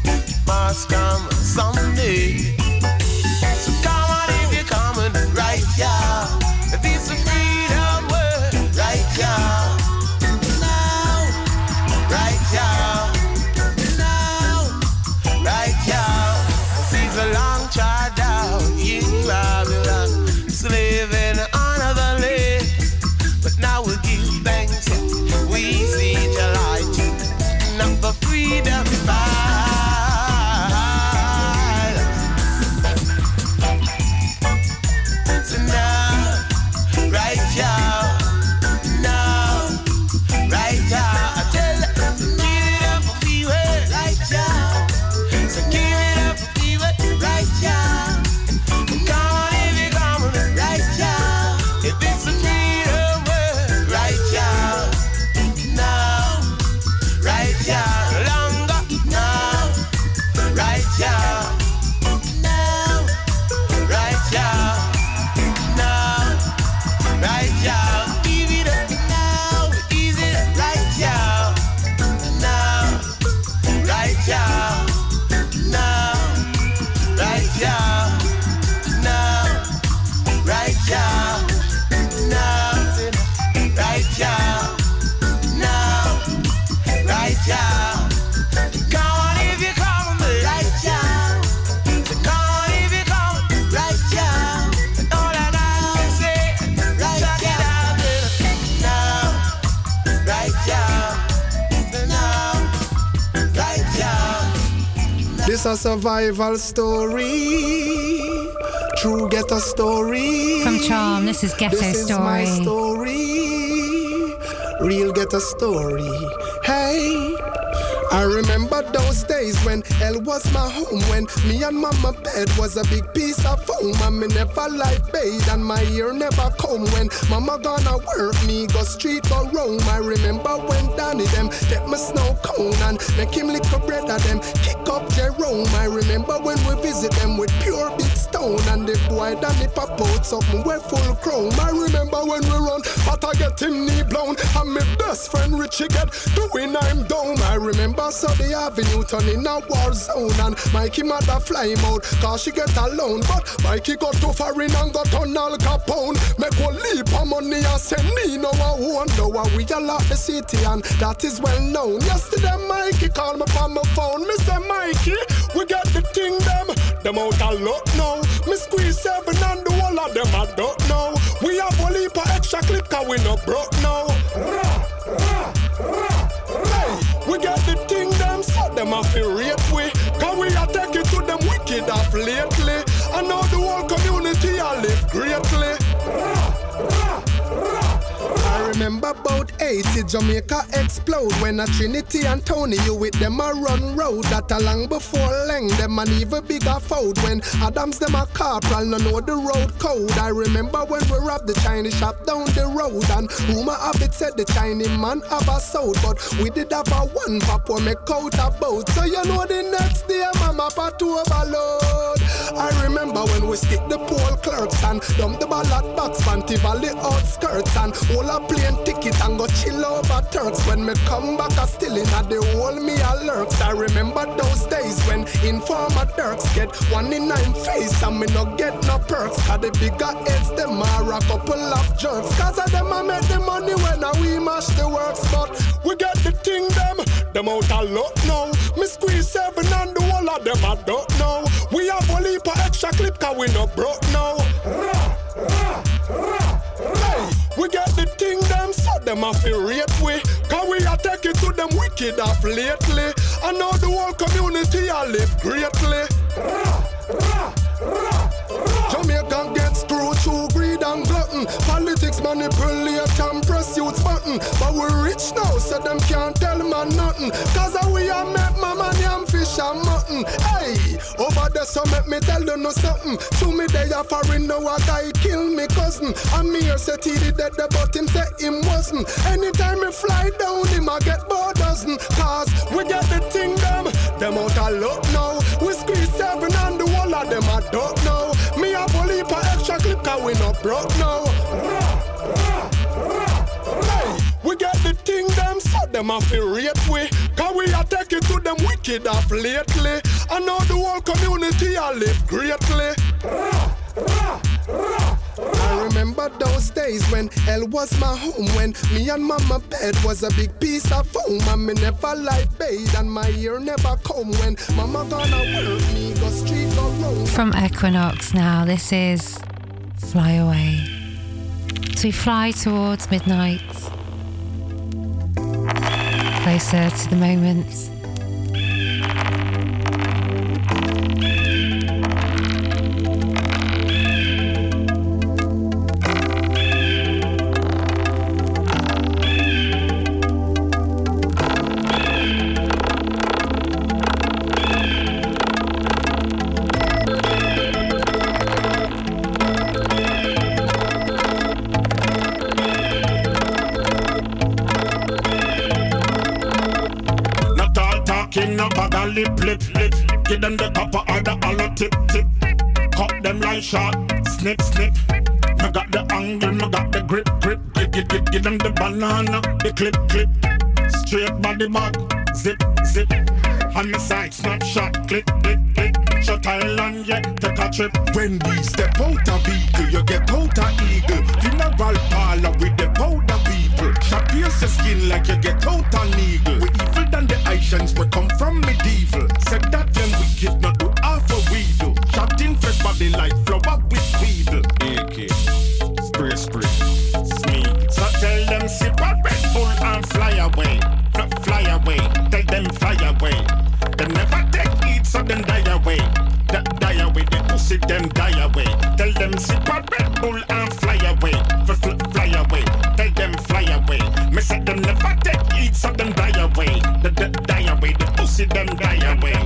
[SPEAKER 13] must come someday. So come on if you're coming right here. This is freedom word right here. Now, right here. Now, right here. Sees a long trot down in Babylon, slaving on the land. But now we give thanks, we see the light, not the freedom fight. So now, right here, now, right here, I tell you, give it up for people, right here. So give it up for people, right here. Come on if you come on, right here. If it's a freedom word, right here. Now, right here. Longer, now, right here. Now, right here. Now, right here. Give it up now, easy, right here. Now, right here. Now, right here. Now, right here. Now, right here. Now, right here. Come on if you come, right here. Come on if you come, right here. And all I gotta say, right here. Now, right here. Now, right here.
[SPEAKER 14] This a survival story. True ghetto story.
[SPEAKER 2] From Charm, this is Ghetto
[SPEAKER 14] This is my
[SPEAKER 2] Story.
[SPEAKER 14] story. Real ghetto story. Hey. I remember those days when hell was my home, when me and mama bed was a big piece of foam, and me never light bathe and my ear never comb. When mama gonna work, me go street or roam. I remember when Danny them get my snow cone and make him lick a bread of them, kick up Jerome. I remember when we visit them with pure big stone, and the boy Danny pop out something we're full chrome. I remember when we run, but I get him knee blown, and my best friend Richie get doing I'm down. I remember so the avenue turn in a war zone, and Mikey mother fly him out cause she get alone. But Mikey got too foreign and got on Al Capone. Make one leap of money and send me no one wonder why we all out the city, and that is well known. Yesterday Mikey called me on my phone. Me say Mikey, we got the thing them, them out a lot now. Me squeeze seven and the whole of them I don't know. We have one leap of extra clip cause we no broke now. Hey, we got the thing them, so them have to rate we, cause we are taking to them wicked off lately. And now the whole community I live greatly. I remember about eighty Jamaica explode when a Trinity and Tony you with them a run road. That a long before Leng them an even bigger fold. When Adams them a corporal no know the road code. I remember when we robbed the Chinese shop down the road, and rumor of it said the Chinese man have a sold, but we did have a one pop when make out a boat. So you know the next day mama pat to overload. I remember when we stick the poll clerks and dump the ballot box Fanti Valley outskirts, and all a plane ticket and go chill over Turks. When me come back I still in at the whole me a lurks. I remember those days when informer Turks get one in nine face and me no get no perks. Cause the bigger heads them are a couple of jerks. Cause of them I make the money when I we mash the works. But we get the thing them, them out a lot now. Me squeeze seven and the whole of them I don't know. We have a leap of extra clip cause we no broke now. Hey, we get the thing them, so them have to rate we, cause we are taking to them wicked off lately. And now the whole community I live greatly. Jamaican get screwed through greed and glutton. Politics manipulate and press youth's button. But we rich now, so them can't tell man nothing. Cause we are met mama yam fish and mutton. Hey, over there so make me tell you no something. To me they are foreign now a guy kill me cousin. And me here said he did that but him say him wasn't. Anytime me fly down him I get bored dozen. Cause we get the thing them, them out a lot now. We squeeze seven and the whole of them I don't know. Me a bully for extra clip cause we not broke now. Hey, we get the thing them, so them have to rate we, cause we are taking to them wicked off lately. I know the whole community I live greatly. I remember those days when hell was my home, when me and mama bed was a big piece of foam, and me never light bathe and my ear never come when mama gonna work me go street go roam.
[SPEAKER 2] From Equinox now, this is Fly Away. So we fly towards midnight, closer to the moment.
[SPEAKER 15] Lip, lip, lip. Give them the copper or the hollow tip, tip. Cut them like shot, snip, snip. I got the angle, I got the grip, grip. Give, give, give, give them the banana, the clip, clip. Straight body bag, zip, zip. On the side, snapshot, click, click, click. Shut island, yeah, take a trip.
[SPEAKER 8] When we step out of vehicle, you get out of eagle. Funeral parlor with the powder people. Shot pierce your skin like you get out of eagle. We evil than the Asians, we come from medieval. Said that them wicked, not do half a we do. Shot in fresh body like flower with weedle.
[SPEAKER 15] A K, spray, spray, smee. So tell them sip a Red Bull and fly away. Fly, fly away, tell them fly away. They never take it, so them die away. D- die away, they pussy them die away. Tell them sip a Red Bull and fly away. F- fl- fly away, tell them fly away. Me say them never take it, so them die away. D- d- die away, they pussy them die away.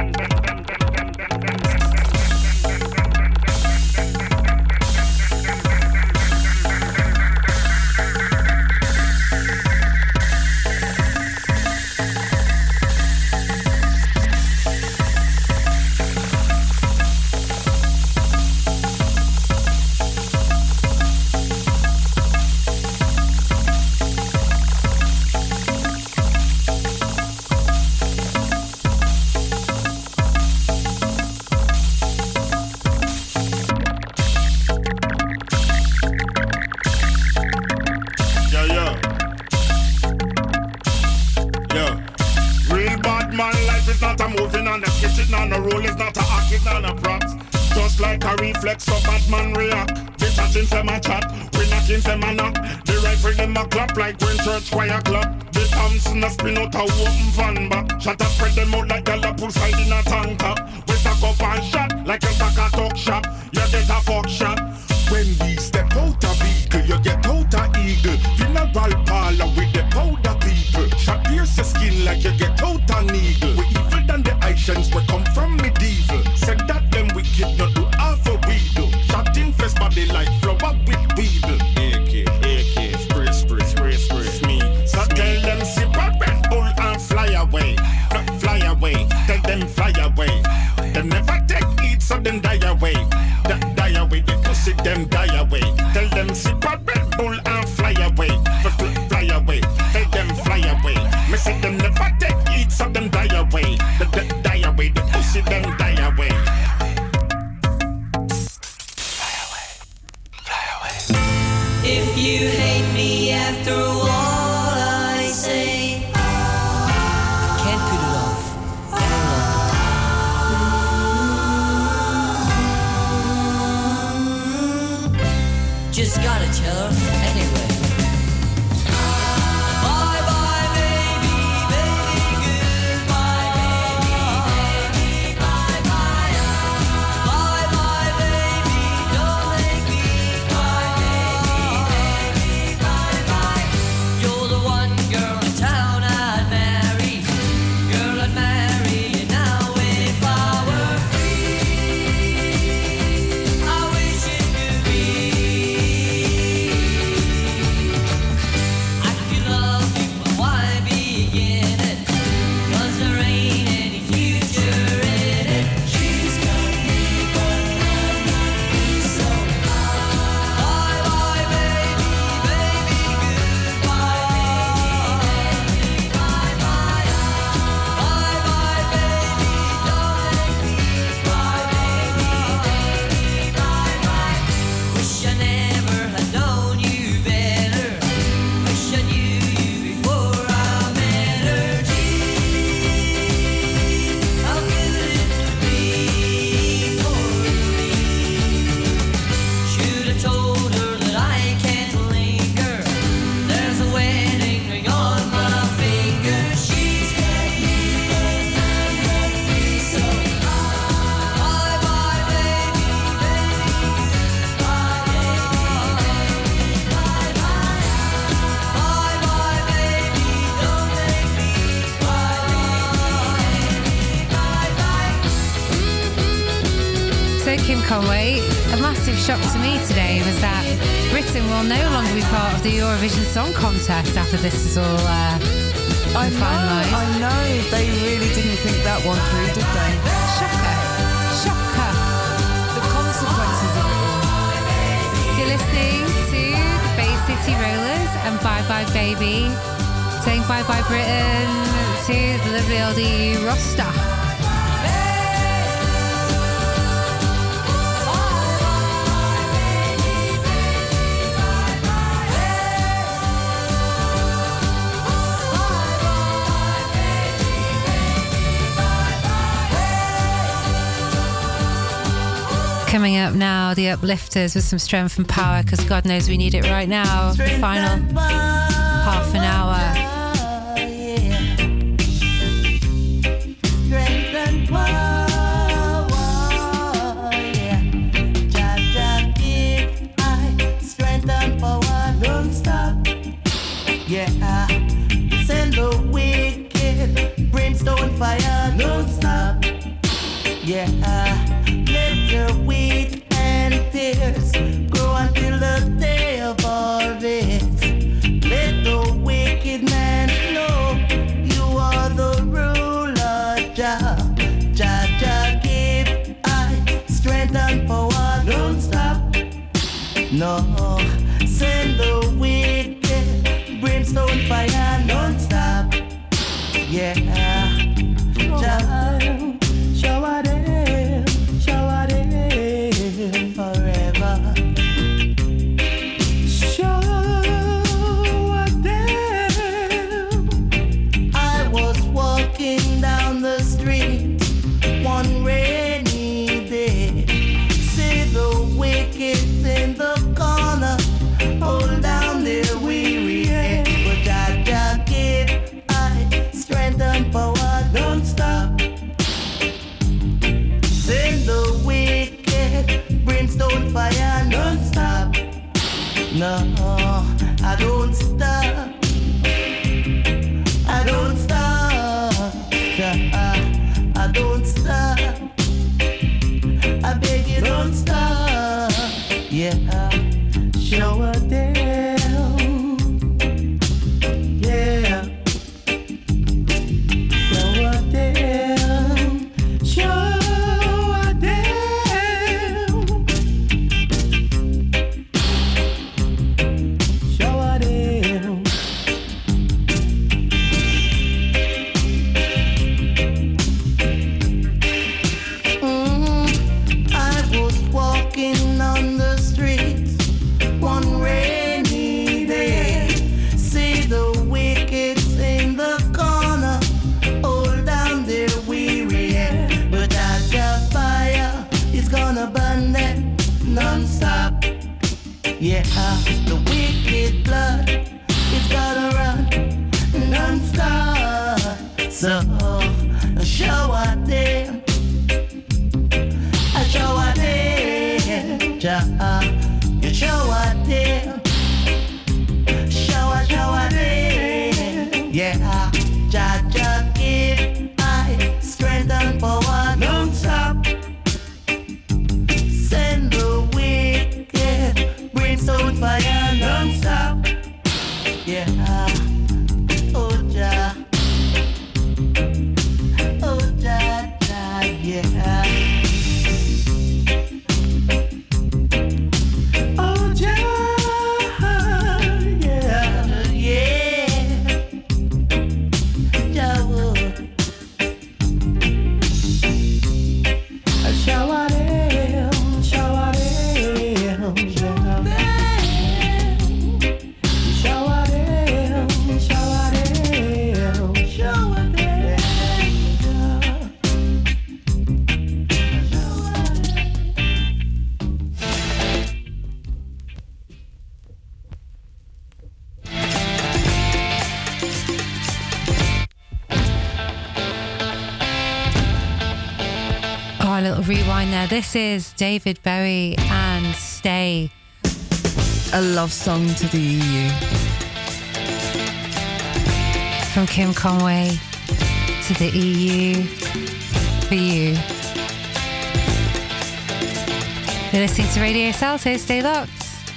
[SPEAKER 15] Reflex so bad man react. They chatting them a chat, we knocking them a knock. The rifle them a clap like when church choir clap. The Thompson a spin out a open van back. Shot a spread them out like a pull side in a tanker. We stack up and shot like a stack a talk shop. You get a fuck shot.
[SPEAKER 8] When we step out of vehicle, you get out of eagle. Funeral parlor with the powder people. Shot pierce your skin like you get out of needle. We evil than the Asians, we come from medieval. Said that them wicked, not do half a we do. Shot in fresh body like flower with weedle.
[SPEAKER 15] A K, A K, spray, spray, spray, spray. Me. So tell them sip a Red Bull and fly away. F- fly away, tell them fly away. They never take it, so them die away. D- die away, they pussy them die away. Tell them sip a Red Bull and fly away. F- f- fly away, tell them fly away. Me say them never take it, so them die away. D- d- die away, they pussy them die away.
[SPEAKER 6] If you hate me after all I say,
[SPEAKER 9] Can't put it off any longer.
[SPEAKER 2] Kim Conway, a massive shock to me today was that Britain will no longer be part of the Eurovision Song Contest after this is all uh,
[SPEAKER 5] I know,
[SPEAKER 2] finalised.
[SPEAKER 5] I know. They really didn't think that one through, did they?
[SPEAKER 2] Shocker. Shocker.
[SPEAKER 5] The consequences of it all.
[SPEAKER 2] You're listening to the Bay City Rollers and Bye Bye Baby, saying bye bye Britain to the lovely old E U roster. Coming up now, the Uplifters with some strength and power, because God knows we need it right now. The final half an hour.
[SPEAKER 4] Strength and power, yeah. Jah Jah give I strength and power, don't stop. Yeah, send the wicked brimstone fire, don't stop. Yeah, let your wheat and tears grow until the day of harvest. Let the wicked man know you are the ruler, Jah. Jah Jah give I strength and power, don't stop. No, send the wicked brimstone fire, don't stop. Yeah, Jah, shower them, shower them forever. Shower them. I was walking down the street one rainy day. See the wicked in the corner, hold down their weary head. But Jah Jah give I strength and power, don't stop. Send the wicked brimstone fire, don't stop. No, I don't stop. I don't stop. I don't stop. I beg you, don't stop. Yeah, shower down. Yeah, shower down. Shower down. Shower down. Mm, I was walking on the streets one rainy day. See the wicked in the corner, hold down their weary head. But Jah Jah fire is gonna burn them non-stop. Yeah, the wicked blood is gonna run non-stop. So shower them, I shower them, Jah, you shower them, shower, shower them. Yeah, Jah Jah give I strength and power, don't stop. Send the wicked brimstone fire, don't stop. Yeah, oh Jah, oh Jah Jah, yeah. Oh Jah, yeah, yeah. Jah, oh. Shower them, shower them, shower them, shower them, shower them, shower them.
[SPEAKER 2] Oh, a little rewind there. This is David Bowie and Stay.
[SPEAKER 5] A love song to the E U.
[SPEAKER 2] From Kim Conway to the E U for you. You're listening to Radio Salto. Stay locked.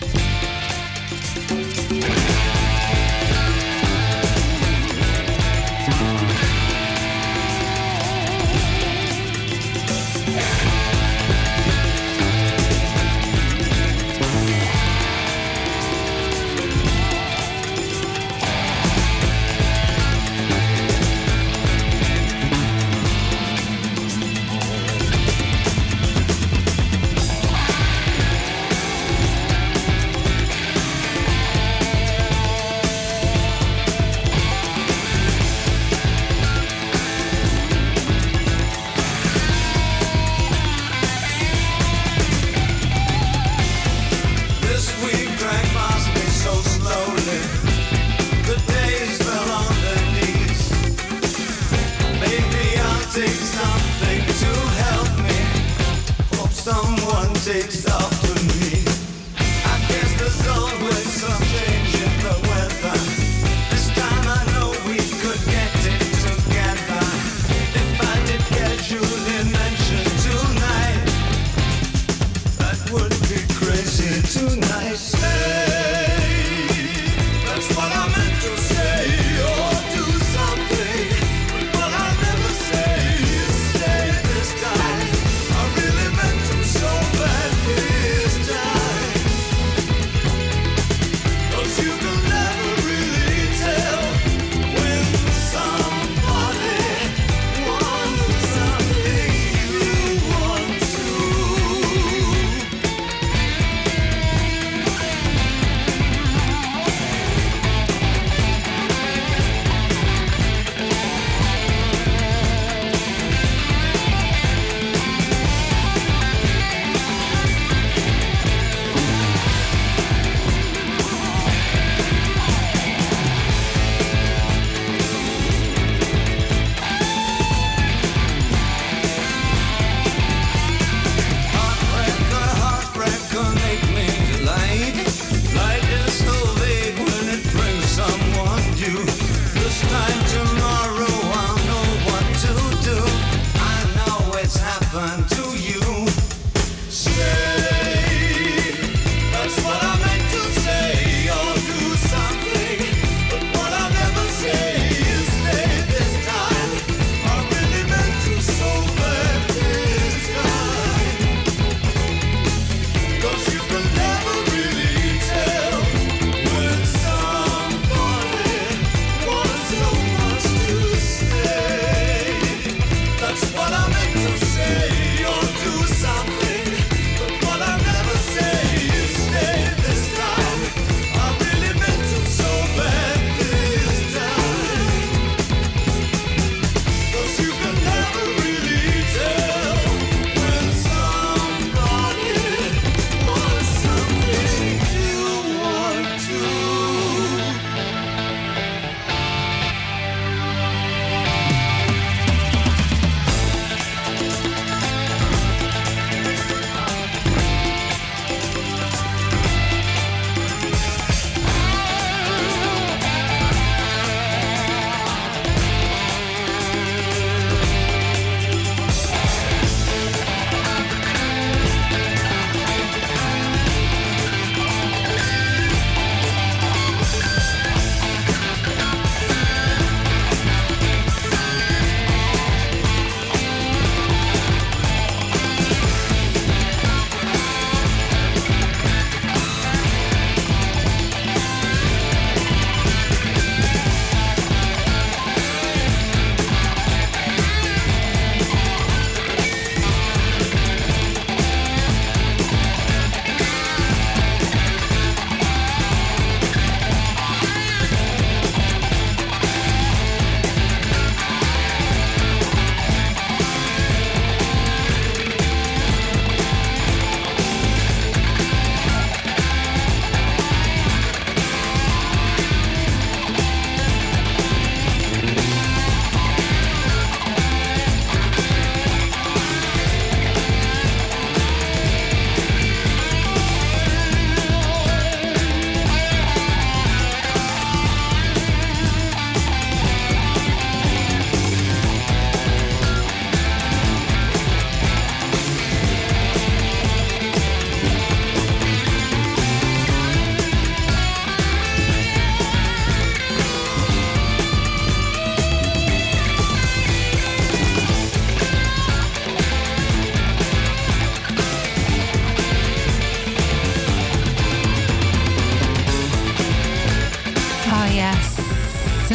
[SPEAKER 3] Takes after me. I guess there's always some change in the weather. This time I know we could get it together. If I did get you in mention tonight, that would be crazy tonight. Say, that's what I meant to say, or do something. But what I never say is say this time. I really meant to so badly.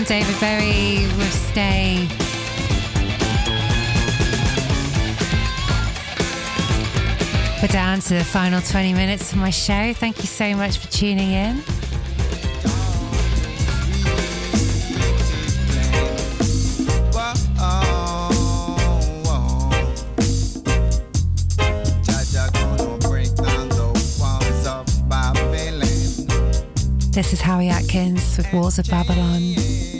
[SPEAKER 2] David Bowie with Stay. We're down to the final twenty minutes of my show. Thank you so much for tuning in. This is Howie Atkins with Walls of Babylon.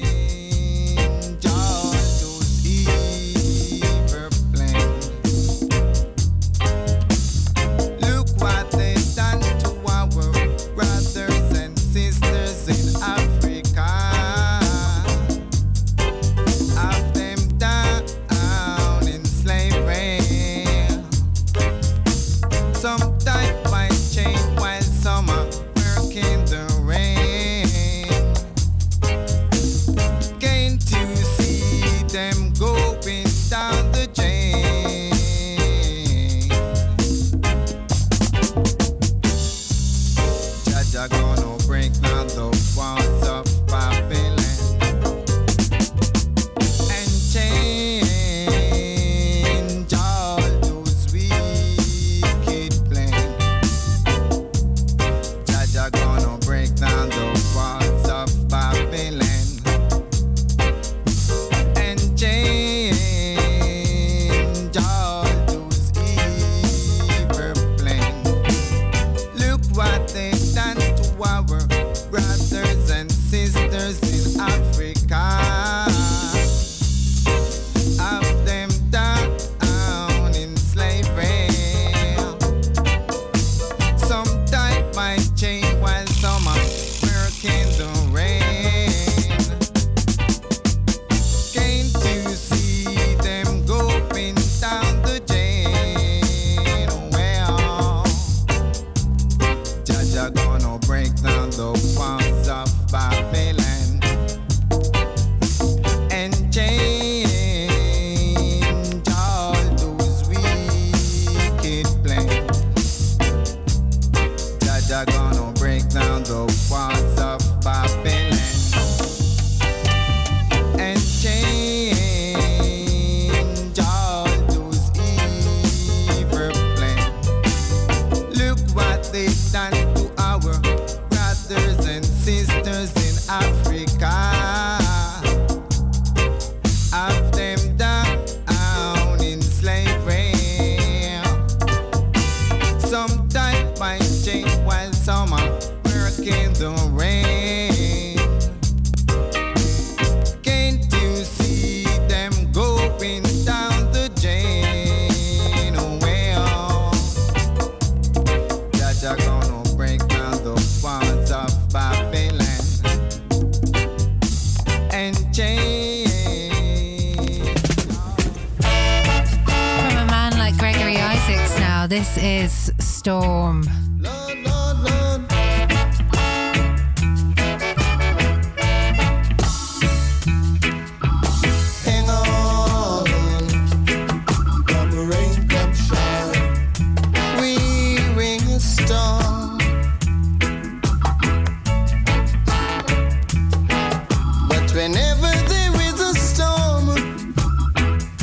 [SPEAKER 2] This is Storm.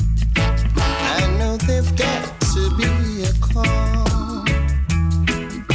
[SPEAKER 16] Got to be a call.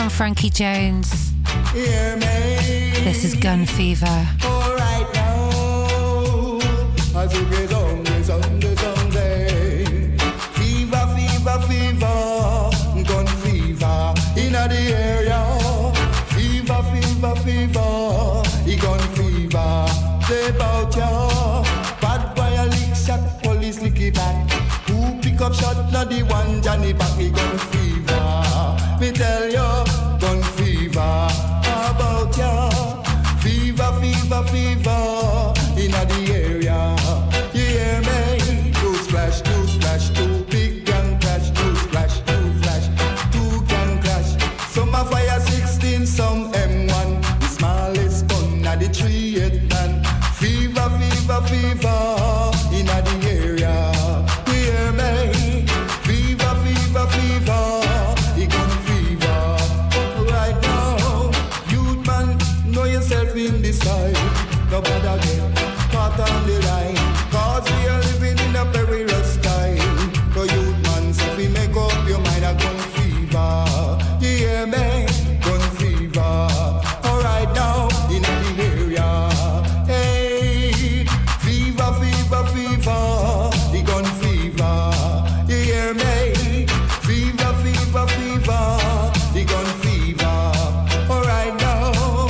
[SPEAKER 2] from Frankie Jones.
[SPEAKER 3] Hear me.
[SPEAKER 2] This is Gun Fever.
[SPEAKER 3] All right now. As you get on the Sunday, Sunday. Fever, fever, fever. Gun fever. In the area. Fever, fever, fever. He gun fever. Say about ya. Bad boy a lick shot. Police lick it back. Who pick up shot? Not the one Johnny back. He gun fever. Me tell you. Gun fever. How about ya? Fever, fever, fever. In the area. You hear me? News flash, news flash. Two big gang crash. News flash, news flash. Two gang crash. Some a fire sixteen, some M one. The smallest gun at the three eight man. Fever, fever, fever. In the area. You hear me? Fever, fever, fever. He gun fever. Right now, youth man, know yourself in the sky. Nobody get caught on the line. Cause we are living in a perilous time. The youth man, so if we make up your mind, a gun fever. You hear me? Gun fever. Alright now, in the area. Hey, fever, fever, fever. The gun fever. You hear me? Fever, fever, fever. The gun fever. Alright now.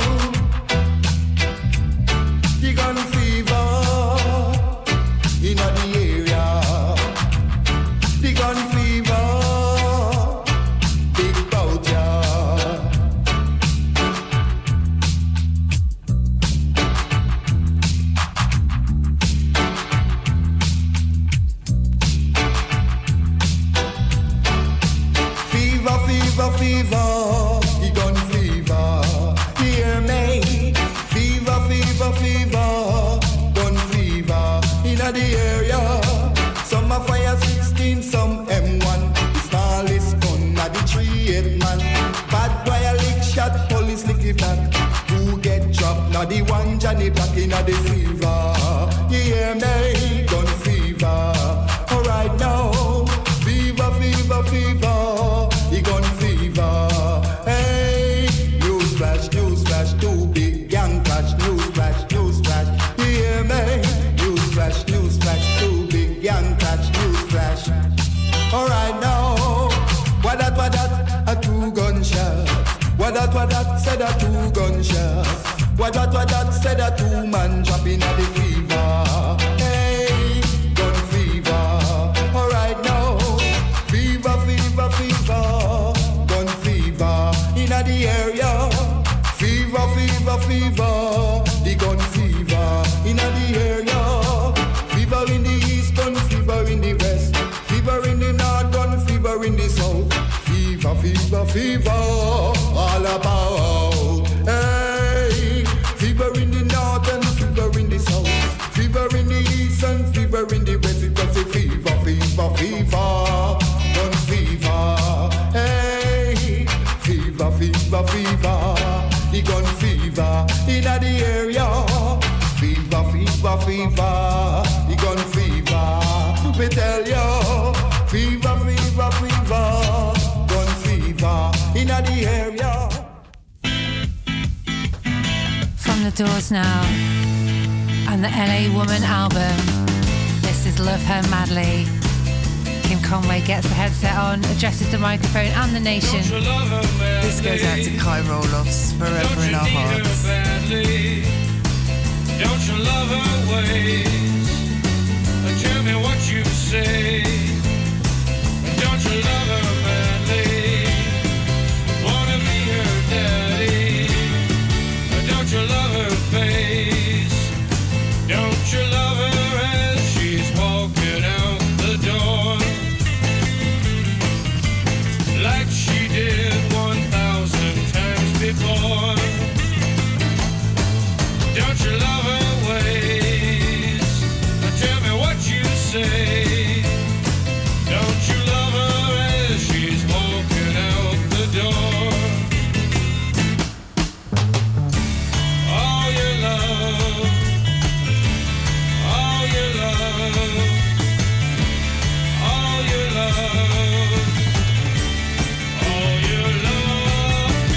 [SPEAKER 3] The gun fever. In the area. The gun fever. Big bout ya. Fever, fever, fever, the gun fever. Hear me? Fever, fever, fever, gun fever. In the area, some a fire sixteen, some M one. The smallest gun at the three eight man. Bad boy a lick shot, police lick it back. Who get dropped? Now the one Johnny back in the fever. You hear me? Gun fever. Alright now, fever, fever, fever. The gun fever. Hey, news flash, news flash, two big gang clash. News flash, news flash. You hear me? News flash, news flash, two big gang clash. News flash. Alright now, what that, what that? A two gunshot. What that, what that? Said a two gunshot. What that, what that? Said a two man dropping at the fever. Hey, gun fever. Alright now, fever, fever, fever. Gun fever. In the area. Fever, fever, fever. The gun fever. In the area. Fever in the east, gun fever in the west. Fever in the north, gun fever in the south. Fever, fever, fever. All about. Hey. Fever in the north and fever in the south. Fever in the east and fever in the west. It was a fever, fever, fever. Gun fever. Hey. Fever, fever, fever. The gun fever in the area. Fever, fever, fever. The gun fever. Me tell you. Fever, fever, fever. Gun fever in the area.
[SPEAKER 2] From the Doors now, and the L A Woman album. This is Love Her Madly. Kim Conway gets the headset on, addresses the microphone and the nation.
[SPEAKER 5] This goes out to Kai Roloffs, forever in our hearts.
[SPEAKER 16] Don't you love her ways? Tell me what you say. Don't you love her badly? Wanna be her daddy? Don't you love her face? Don't you love her as she's walking out the door? Like she did one thousand times before. Don't you love her ways? Tell me what you say. Don't you love her as she's walking out the door? All your love, all your love, all your love, all your love,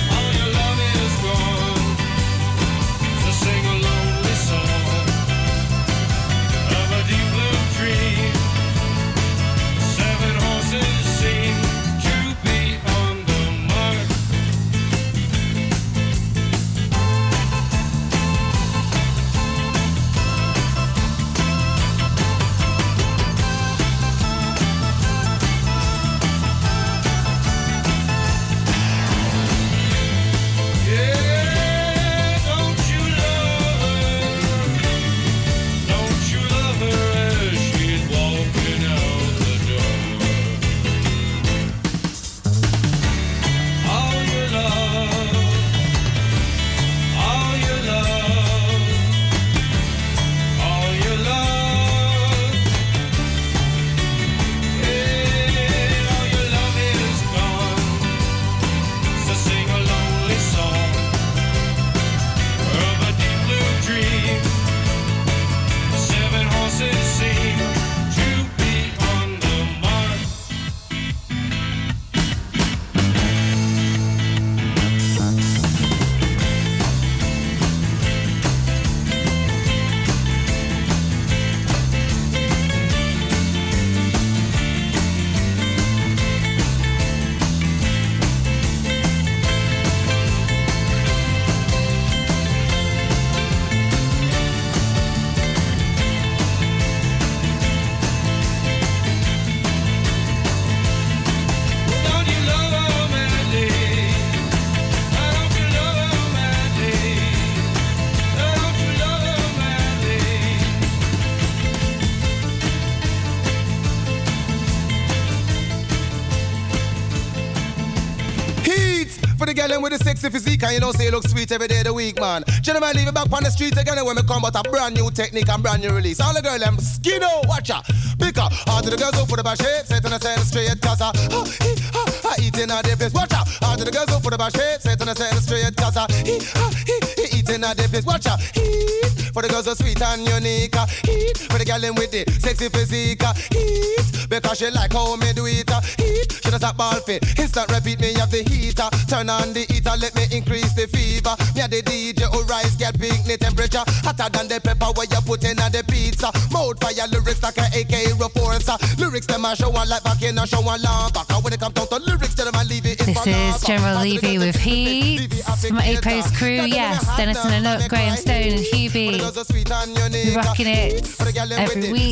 [SPEAKER 17] For the girl with the sexy physique, and you know say you look sweet every day of the week, man. Gentlemen, leave it back on the street again when we come out a brand new technique and brand new release. All the girls them skinny, watch out. Pick up, all the girls up for the bash shape, set on the side straight, cause I, uh, uh, uh, eating at the place. Watch out, all the girls up for the bash shape, set on the side straight, cause I, uh, uh, eating at the place. Watch out, for the girls so sweet and unique. Eat for the girl them with the sexy physique. Eat because she like how me do it. Eat she does that ball fit. Instant repeat me have the heater. Turn on the heater, let me increase the fever. Me a the D J who rise get picnic temperature hotter than the pepper where you put in on the pizza. Mouth fire lyrics like a A K reporter. Lyrics them a show one like back in a show one lamp. Back when it comes down to lyrics, tell them I leave it.
[SPEAKER 2] This is General Levy with Heat from A Post Crew. Yes, Dennis and Anook, Graham Stone and Hubie. We're rocking it every week.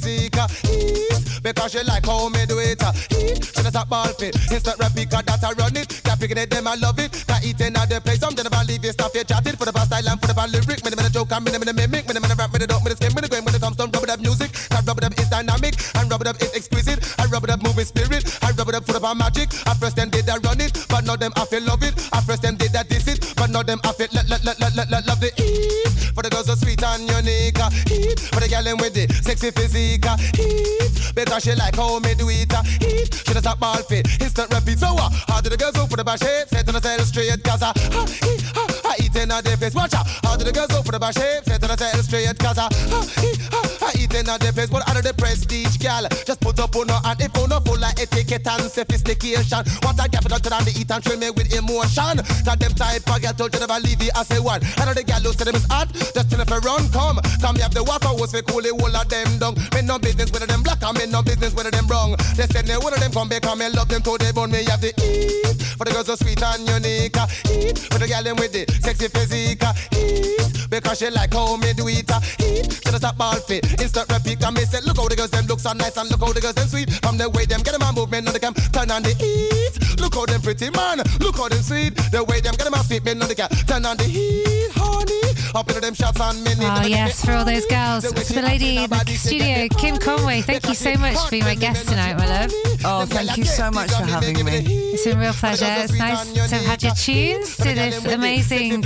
[SPEAKER 17] Because she like how me do it. She does a ball fit. Instant replica that I run it. That picking it, them I love it. That eating at the place. I'm gonna believe it. Stuff you chatted for the bad style and for the bad lyric. Me the joke and me the mimic. Me the rap, me the dope, me the skin, me the game. When it comes to rub it up music, that rub it up is dynamic and rub it up is exquisite. I rub it up moving spirit. I rub it up for the magic. I first them did that run it, but now them I feel love it. I first them did that diss it, but now them I feel let let let let let love the eat. For the girls so sweet and unique. Eat for the girl them with the sexy physique. Eat because she like how me do it. Eat she does that ball fit. Instant repeat. So uh, how do the girls go for the bash shape? Set on the side straight cause I, uh, uh, I eat in a place. Watch out. How do the girls go for the bash shape? Set on the side straight cause I, uh, uh, I eat in a place. But out of the prestige gal, just put up on her and if on her full of etiquette and sophistication. What I get for the to eat and train me with emotion. That them type of girl told you never leave it as a one. I know the girl who said them is hot. Just tell if I run come. Come me have the water was for cool the whole of them down. Me no business with them black and me no business with them wrong. They said me one of them come back and me love them to the bone. Me have the eat for the girls so sweet and unique. Eat for the girl them with the sexy physique. Eat because she like how me do it. Eat she does that ball fit. Instant repeat and me say look how the girls them look so nice and look how the girls them sweet. From the way them get them a movement on the cam, turn on the heat. Look how them pretty man, look how them sweet. The way them get them a feet, men on the cam, turn on the heat, honey. Up into them shots and mini.
[SPEAKER 2] Oh yes, for all those girls. For the lady in the studio, Kim Conway, thank you so much for being my guest tonight, my love.
[SPEAKER 5] Oh, thank you so much for having me.
[SPEAKER 2] It's been a real pleasure. It's nice to have had your tunes to this amazing,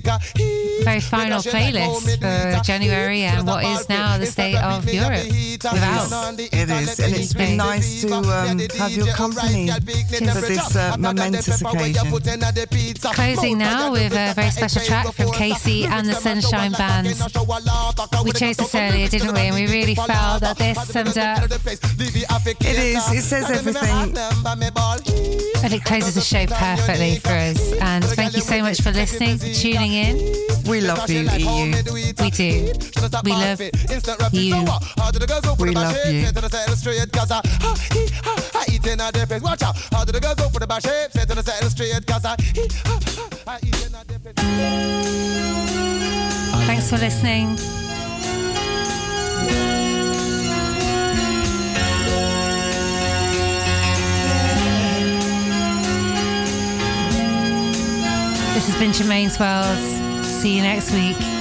[SPEAKER 2] very final playlist for January and what is now the state of Europe without.
[SPEAKER 5] It is, and it's been nice to um, have your company for this uh, momentous occasion.
[SPEAKER 2] Closing now with a very special track from Casey and the Sunshine Band. We chose this earlier, didn't we? And we really felt that this summed up.
[SPEAKER 5] It is, it says everything.
[SPEAKER 2] And it closes the show perfectly for us. And thank you so much for listening, for tuning in.
[SPEAKER 5] We love you, E U.
[SPEAKER 2] We do. We love you.
[SPEAKER 5] We love you.
[SPEAKER 17] Watch out. How do the girls go for the bash shape? Set on the side straight cause I
[SPEAKER 2] Thanks for listening. This has been Jermaine's World. See you next week.